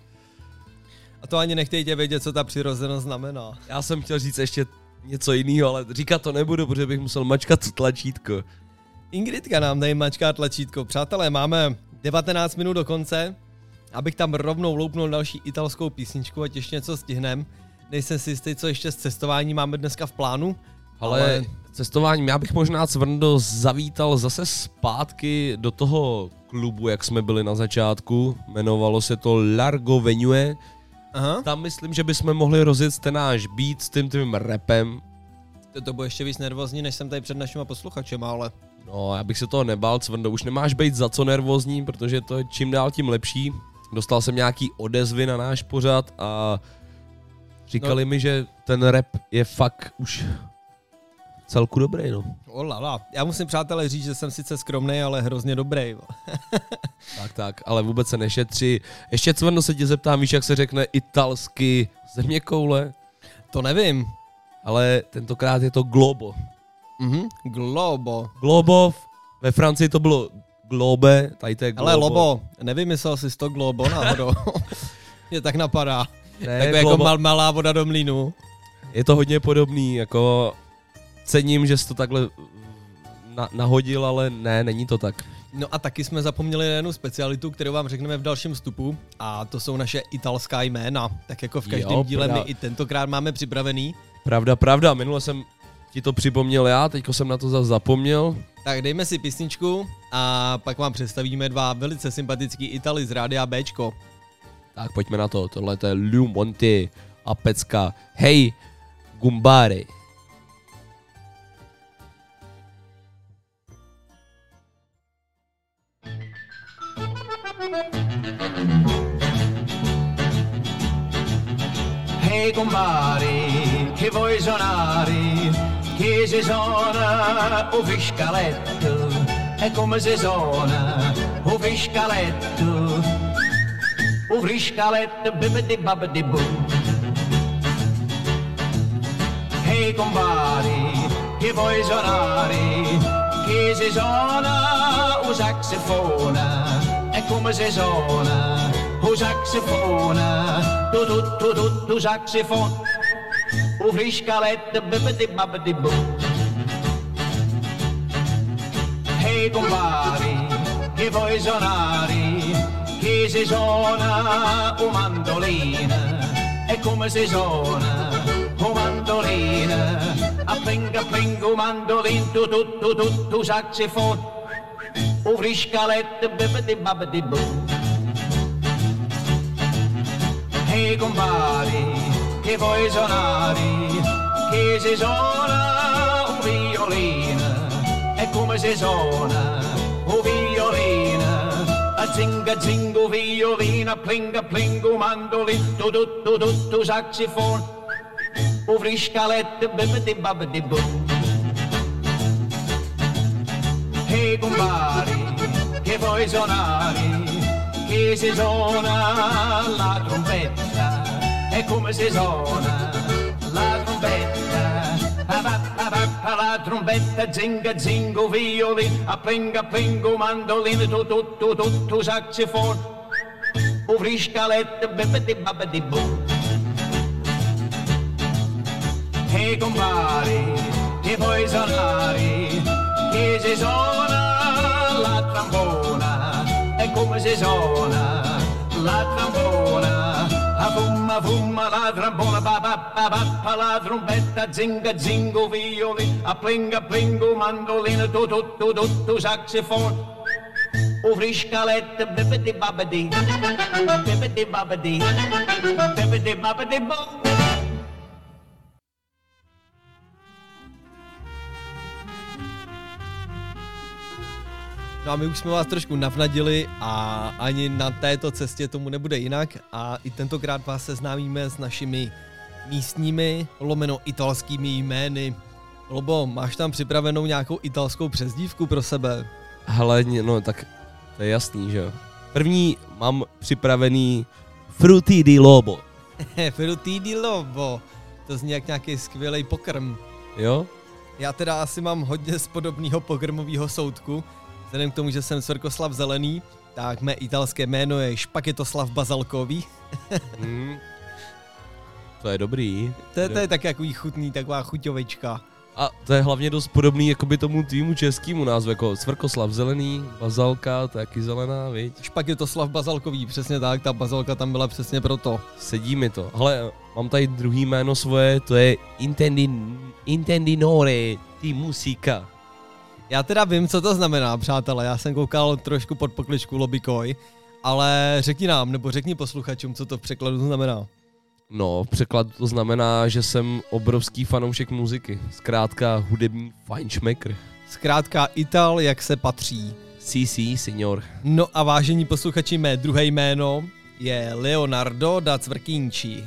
A to ani nechtějte vědět, co ta přirozenost znamená. Já jsem chtěl říct ještě něco jiného, ale říkat to nebudu, protože bych musel mačkat tlačítko. Ingridka nám tady mačká tlačítko. Přátelé, máme 19 minut do konce, abych tam rovnou loupnul další italskou písničku, ať ještě něco stihnem. Nejsem si jistý, co ještě s cestováním máme dneska v plánu. Ale cestováním, já bych možná Cvrndo zavítal zase zpátky do toho klubu, jak jsme byli na začátku. Jmenovalo se to Largo Venue. Aha. Tam myslím, že bychom mohli rozjet ten náš beat s tím tvým rapem. To bude ještě víc nervózní, než jsem tady před našima posluchačema, ale... No, já bych se toho nebál, Cvrndo, už nemáš být za co nervózní, protože to je čím dál tím lepší. Dostal jsem nějaký odezvy na náš pořad a říkali mi, že ten rap je fakt už celku dobrý, no. Olala, já musím, přátelé, říct, že jsem sice skromnej, ale hrozně dobrý. Tak, ale vůbec se nešetří. Ještě Cvrndo se tě zeptám, víš, jak se řekne italsky zeměkoule? To nevím. Ale tentokrát je to globo. Globo. Globo, ve Francii to bylo globe, tady to je globo. Ale Lobo, nevymyslel jsi to globo náhodou. Mě tak napadá. Ne, tak jako malá voda do mlýnu. Je to hodně podobný, jako cením, že jsi to takhle nahodil, ale ne, není to tak. No a taky jsme zapomněli na jednu specialitu, kterou vám řekneme v dalším vstupu, a to jsou naše italská jména. Tak jako v každém díle my i tentokrát máme připravený. Pravda, minule jsem ti to připomněl já, teďko jsem na to zase zapomněl. Tak dejme si písničku a pak vám představíme 2 velice sympatický Italy z Rádia Bčko. Tak pojďme na to, tohle je Liu Monti a pecka Hej Gumbare. Hey compari, che vuoi suonare? Che si suona o fiscaletto? E come si suona o fiscaletto? O fiscaletto, bibidi babidi boo. Hey compari, che vuoi suonare? Che si suona o saxofona? E come si suona o på saxofonen. Du saxofon. Och friska lätt bibbidi-babbidi-boo. Hej compari, che vuoi suonare? Che si suona un mandolino. E come si suona un mandolino? A plinga mandolin, tu saxofon. Och friska lätt bibbidi-babbidi-boo. Hej compari, che vuoi suonare? Che si suona un violino. E come si suona un violino? A zinga violino, plinga mandolin, tu saxofon. Och friska lätt bibbidi-babbidi-boo. Hej compari, che vuoi suonare? Che si suona la trombetta. E come si suona la trombetta? La trombetta, zinga violin, a plinga mandolin, tu saxofon. Och friska lätt bibbidi-babbidi-boo. Hej compari, che vuoi suonare? Che si suona la trombona. E come si suona la trombona? A fumma la trombona, ba la trombetta, zinga violin, a plinga mandolin, tu saxofon. Och friska lätt bibbidi-babbidi, bibbidi-babbidi, bibbidi-babbidi-boo. No a my už jsme vás trošku navnadili a ani na této cestě tomu nebude jinak a i tentokrát vás seznámíme s našimi místními italskými jmény. Lobo, máš tam připravenou nějakou italskou přezdívku pro sebe? Hele, no tak to je jasný, že jo. První mám připravený Frutti di Lobo. Frutti di Lobo, to zní jak nějaký skvělý pokrm. Jo? Já teda asi mám hodně z podobného pokrmového soudku. Vzhledem k tomu, že jsem Svrkoslav Zelený, tak mé italské jméno je Špaketoslav Bazalkový. To je dobrý. To je tak takový chutný, taková chuťovička. A to je hlavně dost podobný jakoby tomu tvýmu českému názvu, jako Svrkoslav Zelený, Bazalka, to je taky zelená, viď? Špaketoslav Bazalkový, přesně tak, ta bazalka tam byla přesně proto. Sedí mi to. Hele, mám tady druhý jméno svoje, to je Intendinore di Musica. Já teda vím, co to znamená, přátelé, já jsem koukal trošku pod pokličku Lobikoj, ale řekni nám, nebo řekni posluchačům, co to v překladu znamená. No, v překladu to znamená, že jsem obrovský fanoušek muziky, zkrátka hudební fajnšmekr. Zkrátka Ital, jak se patří. Sí, signor. No a vážení posluchači, mé druhé jméno je Leonardo da Cvrkínči.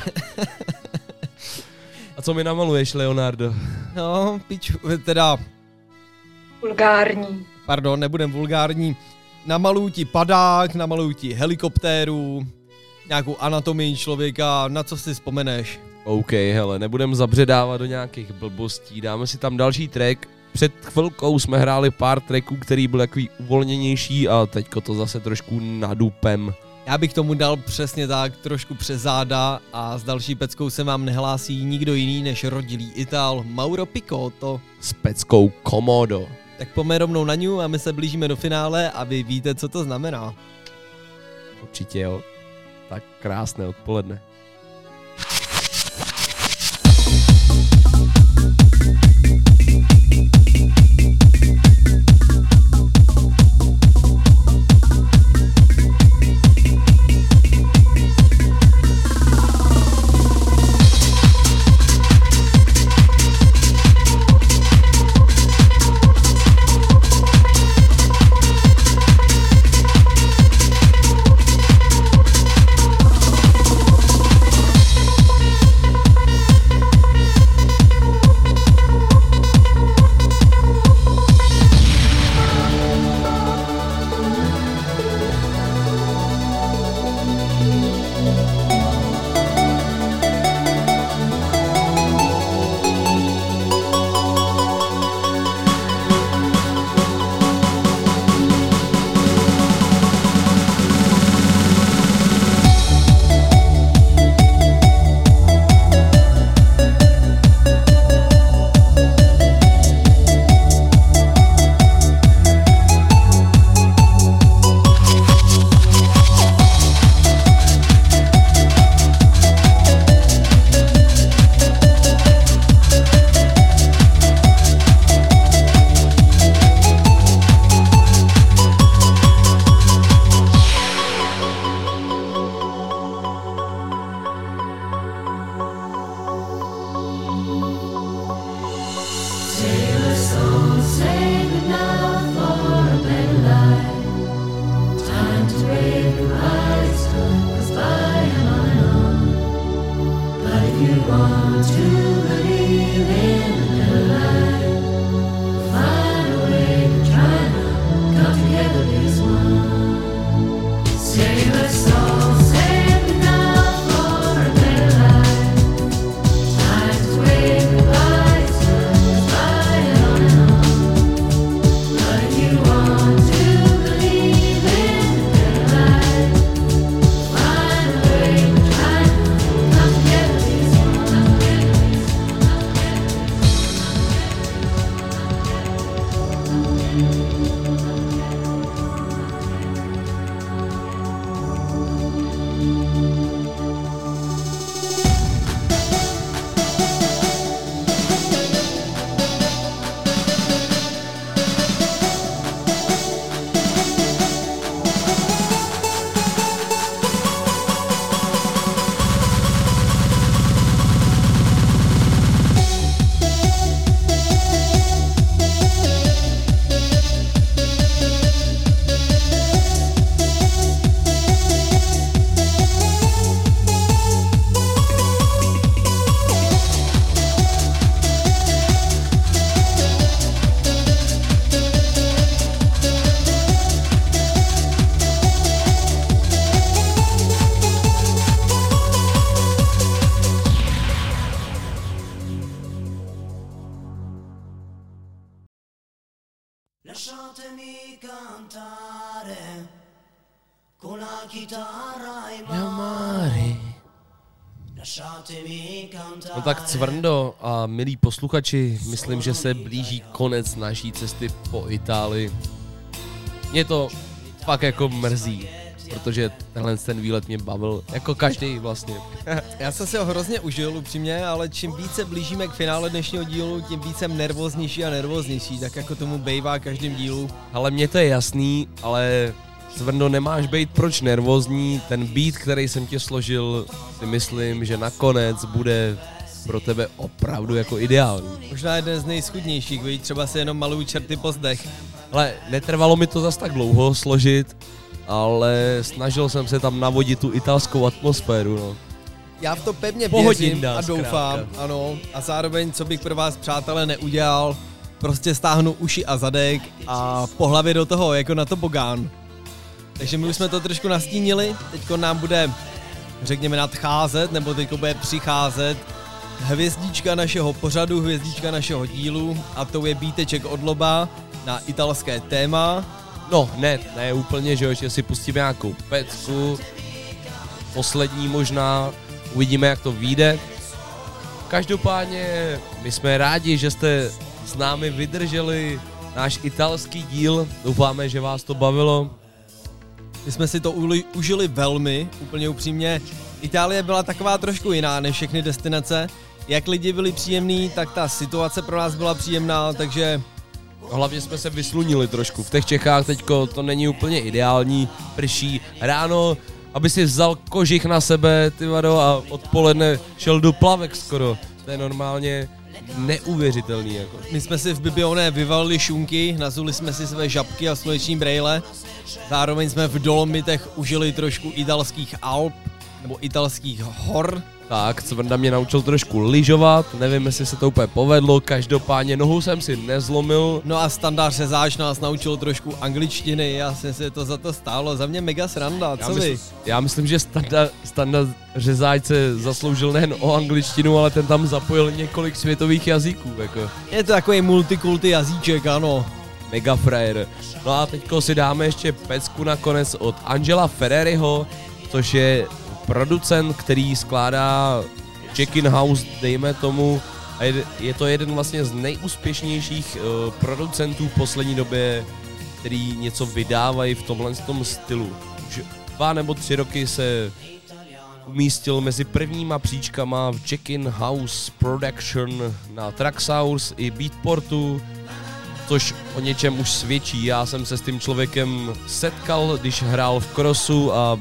A co mi namaluješ, Leonardo? No, piču, teda... Vulgární. Pardon, nebudem vulgární. Namaluju ti padák, namaluju ti helikoptéru, nějakou anatomii člověka, na co si vzpomeneš. OK, hele, nebudem zabředávat do nějakých blbostí, dáme si tam další track. Před chvilkou jsme hráli pár tracků, který byl takový uvolněnější a teďko to zase trošku nadupem. Já bych tomu dal přesně tak, trošku přes záda a s další peckou se vám nehlásí nikdo jiný než rodilý Ital Mauro Picotto. S peckou Komodo. Tak pojďme rovnou na ňu a my se blížíme do finále a vy víte, co to znamená. Určitě jo. Tak krásné odpoledne. save it now for a better life. Time to wave goodbye, as time goes by and on. But if you want to believe in a better life, find a way to try now, come together as one. Save us all, save it now for a better life. Time to wave goodbye, as time goes by and on. But if you want to believe in a better life, find a way to try now, come together as one. Lasciatemi cantare con la chitarra in Mare. Lasciatemi cantare. No tak Cvrndo a milí posluchači, myslím, že se blíží konec naší cesty po Itálii. Mě to fakt jako mrzí, protože tenhle ten výlet mě bavil, jako každý vlastně. Já jsem si ho hrozně užil upřímně, ale čím více blížíme k finále dnešního dílu, tím víc jsem nervóznější a nervóznější, tak jako tomu bejvá každým dílu. Ale mně to je jasný, ale Cvrndo, nemáš být proč nervózní, ten beat, který jsem tě složil, si myslím, že nakonec bude pro tebe opravdu jako ideální. Možná jeden z nejschudnějších, víš, třeba si jenom malují čerty po zdech. Ale netrvalo mi to zas tak dlouho složit, ale snažil jsem se tam navodit tu italskou atmosféru, no. Já v to pevně Pohodím věřím nás, a doufám, zkrátka. ano. A zároveň, co bych pro vás, přátelé, neudělal, prostě stáhnu uši a zadek a po hlavě do toho, jako na tobogán. Takže my už jsme to trošku nastínili, teďko nám bude, řekněme, nadcházet, nebo teďko bude přicházet hvězdička našeho pořadu, hvězdička našeho dílu, a to je bíteček od Loba na italské téma. No, ne úplně, že jo, že si pustíme nějakou pecku, poslední možná, uvidíme, jak to vyjde. Každopádně my jsme rádi, že jste s námi vydrželi náš italský díl, doufáme, že vás to bavilo. My jsme si to užili velmi, úplně upřímně. Itálie byla taková trošku jiná než všechny destinace. Jak lidi byli příjemní, tak ta situace pro nás byla příjemná, takže... Hlavně jsme se vyslunili trošku. V těch Čechách teďko to není úplně ideální, prší ráno, aby si vzal kožich na sebe, ty vado, a odpoledne šel do plavek skoro. To je normálně neuvěřitelný, jako. My jsme si v Bibione vyvalili šunky, nazuli jsme si své žabky a sluneční brejle. Zároveň jsme v Dolomitech užili trošku italských Alp, nebo italských hor. Tak, Cvrnda mě naučil trošku lyžovat, nevím, jestli se to úplně povedlo, každopádně nohu jsem si nezlomil. No a Standard Řezáč nás naučil trošku angličtiny, já jsem si to za to stálo, za mě mega sranda, co vy? Já myslím, že Standard Řezáč se zasloužil nejen o angličtinu, ale ten tam zapojil několik světových jazyků, jako. Je to takový multikulty jazyček, ano. Mega frajer. No a teďko si dáme ještě pecku nakonec od Angela Ferreriho, což je producent, který skládá Check-in House, dejme tomu, a je to jeden vlastně z nejúspěšnějších producentů v poslední době, který něco vydávají v tomhle stylu. Už 2 nebo 3 roky se umístil mezi prvníma příčkama v Check-in House Production na Traxsource i Beatportu, což o něčem už svědčí. Já jsem se s tím člověkem setkal, když hrál v Crossu a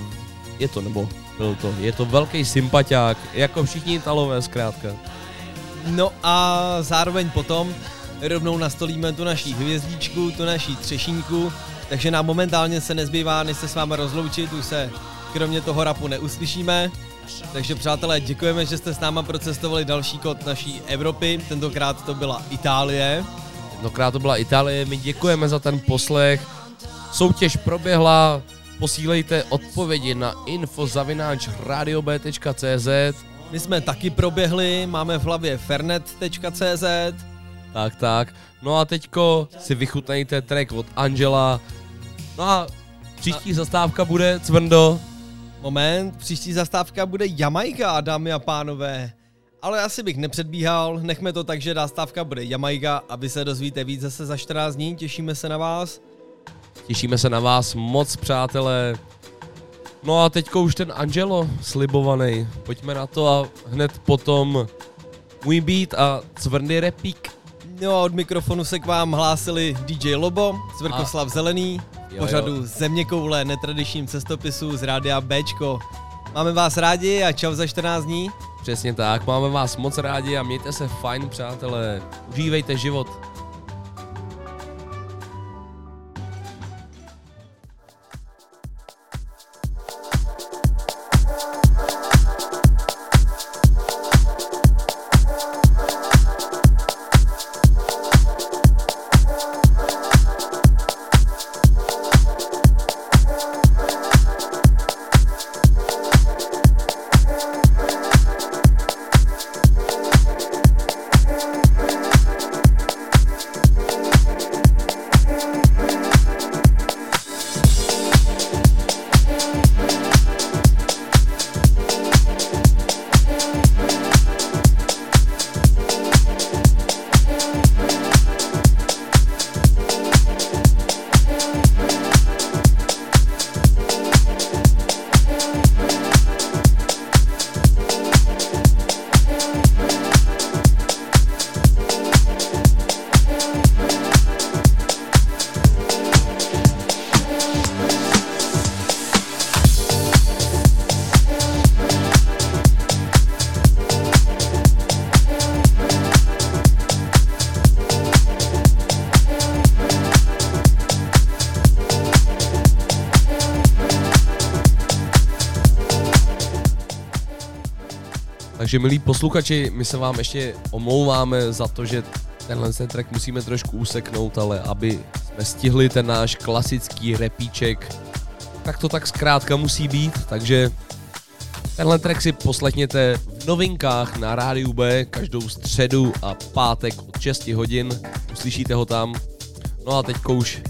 je to velký sympatiák, jako všichni Italové zkrátka. No a zároveň potom rovnou nastolíme tu naší hvězdičku, tu naší třešínku, takže nám momentálně se nezbývá, než se s vámi rozloučit, už se kromě toho rapu neuslyšíme. Takže přátelé, děkujeme, že jste s náma procestovali další kód naší Evropy, tentokrát to byla Itálie. My děkujeme za ten poslech. Soutěž proběhla, posílejte odpovědi na info@radiob.cz. My jsme taky proběhli, máme v hlavě fernet.cz. Tak. No a teďko si vychutnejte track od Angela. No a příští zastávka bude, Cvrndo. Moment, příští zastávka bude Jamajka, dámy a pánové. Ale asi bych nepředbíhal, nechme to tak, že zastávka bude Jamajka a vy se dozvíte víc zase za 14 dní, těšíme se na vás. Těšíme se na vás moc, přátelé. No a teďko už ten Angelo slibovaný. Pojďme na to a hned potom můj beat a Cvrndy repík. No a od mikrofonu se k vám hlásili DJ Lobo, Cvrkoslav Zelený, pořadu Zeměkoule, netradičním cestopisu z rádia Bčko. Máme vás rádi a čau za 14 dní. Přesně tak, máme vás moc rádi a mějte se fajn, přátelé. Užívejte život. Takže milí posluchači, my se vám ještě omlouváme za to, že tenhle track musíme trošku useknout, ale aby jsme stihli ten náš klasický repíček, tak to tak zkrátka musí být, takže tenhle track si poslechněte v novinkách na Rádiu B každou středu a pátek od 6 hodin, uslyšíte ho tam. No a teďko už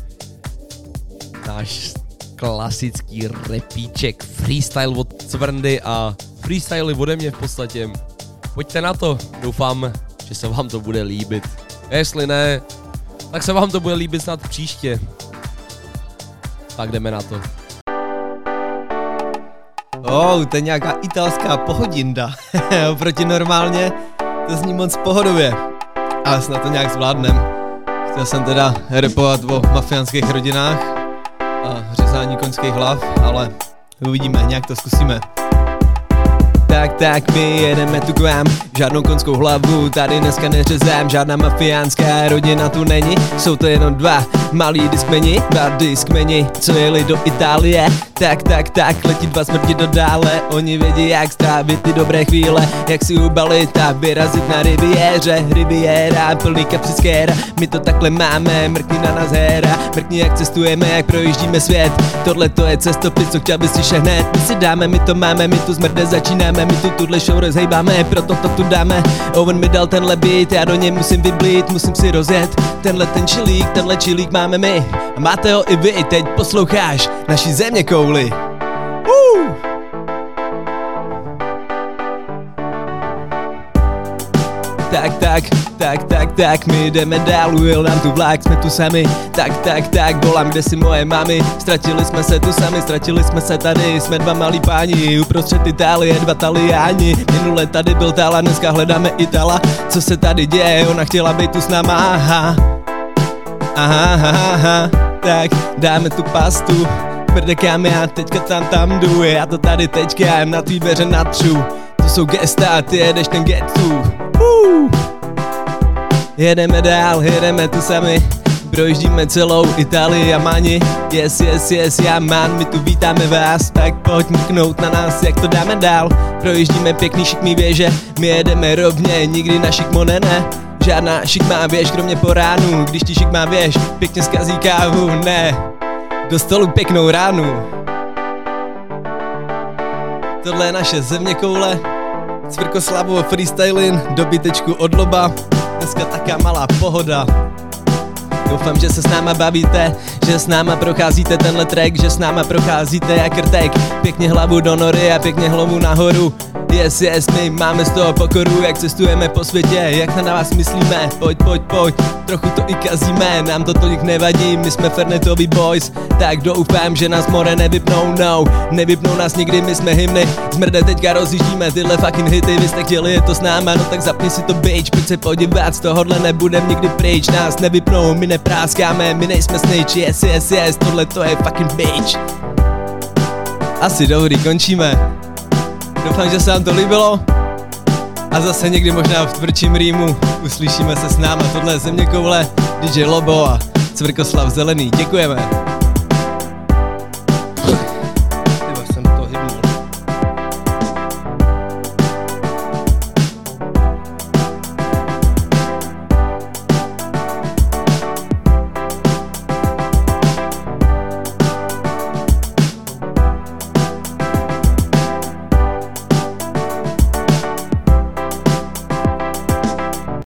náš klasický repíček, freestyle od Cvrndy a freestyly ode mě v podstatě. Pojďte na to, doufám, že se vám to bude líbit. A jestli ne, tak se vám to bude líbit snad příště. Tak jdeme na to. To je nějaká italská pohodinda. Oproti normálně to zní moc pohodově. Ale snad to nějak zvládnem. Chtěl jsem teda rapovat o mafiánských rodinách a řezání koňských hlav, ale uvidíme, nějak to zkusíme. Tak my jedeme tu k vám, žádnou koňskou hlavu tady dneska neřezám, žádná mafiánská rodina tu není, jsou to jenom dva malí diskmeni, co jeli do Itálie. Tak, letí dva smrti do dále, oni vědí jak strávit ty dobré chvíle, jak si ubalit a vyrazit na riviéře, riviéra, plný kapsy skéra, my to takhle máme, mrkni na nás héra, mrkni jak cestujeme, jak projíždíme svět, tohle to je cestopis, co chtěl bys slyšet hned, my si dáme, my to máme, my tu smrde začínáme, my tu tuhle show rozhejbáme, proto to tu dáme, Owen mi dal tenhle beat, já do něj musím vyblít, musím si rozjet, tenhle čilík máme my, a máte ho i vy, teď posloucháš naší Zeměkouli. Tak, my jdeme dál, ujel nám tu vlak, jsme tu sami. Tak, volám, kde si moje mami. Ztratili jsme se tu sami, ztratili jsme se tady, jsme dva malí páni, uprostřed Itálie, dva Taliáni. Minule tady byl Tala, dneska hledáme Itala. Co se tady děje, ona chtěla být tu s náma, aha. Tak, dáme tu pastu, mrdekám já teďka tam jdu, já to tady teďka jem na tvý dveře natřu. To jsou gesta, ty jedeš ten get tu. Jedeme dál, jedeme tu sami. Projíždíme celou Itálii a Mani. Yes, yes, yes, já man, my tu vítáme vás. Tak pojď mrknout na nás, jak to dáme dál. Projíždíme pěkný šikmý věže, my jedeme rovně, nikdy na šikmo ne. Žádná šikmá věž, kromě po ránu. Když ti šikmá věž, pěkně zkazí kávu, ne. Do stolu pěknou ránu. Tohle je naše zeměkoule. Cvirkoslavovo freestyling, dobytečku od loba. Dneska taká malá pohoda. Doufám, že se s náma bavíte, že s náma procházíte tenhle track, že s náma procházíte jak rtek. Pěkně hlavu do nory a pěkně hlavu nahoru. Yes, yes, my máme z toho pokoru, jak cestujeme po světě, jak na vás myslíme. Pojď, pojď, pojď, trochu to i kazíme, nám to tolik nevadí, my jsme Fernetovi boys. Tak doufám, že nás more nevypnou, no, nevypnou nás nikdy, my jsme hymny. Zmrde, teďka rozjíždíme tyhle fucking hity, vy jste chtěli je to s náma, no tak zapni si to bitch, pojď se podívat, z tohohle nebudem nikdy pryč. Nás nevypnou, my nepráskáme, my nejsme snitch, yes, yes, yes, tohle to je fucking bitch. Asi dobrý, končíme. Doufám, že se vám to líbilo a zase někdy možná v tvrdším rýmu uslyšíme se s náma. Tohle je Zeměkoule, DJ Lobo a Cvirkoslav Zelený. Děkujeme.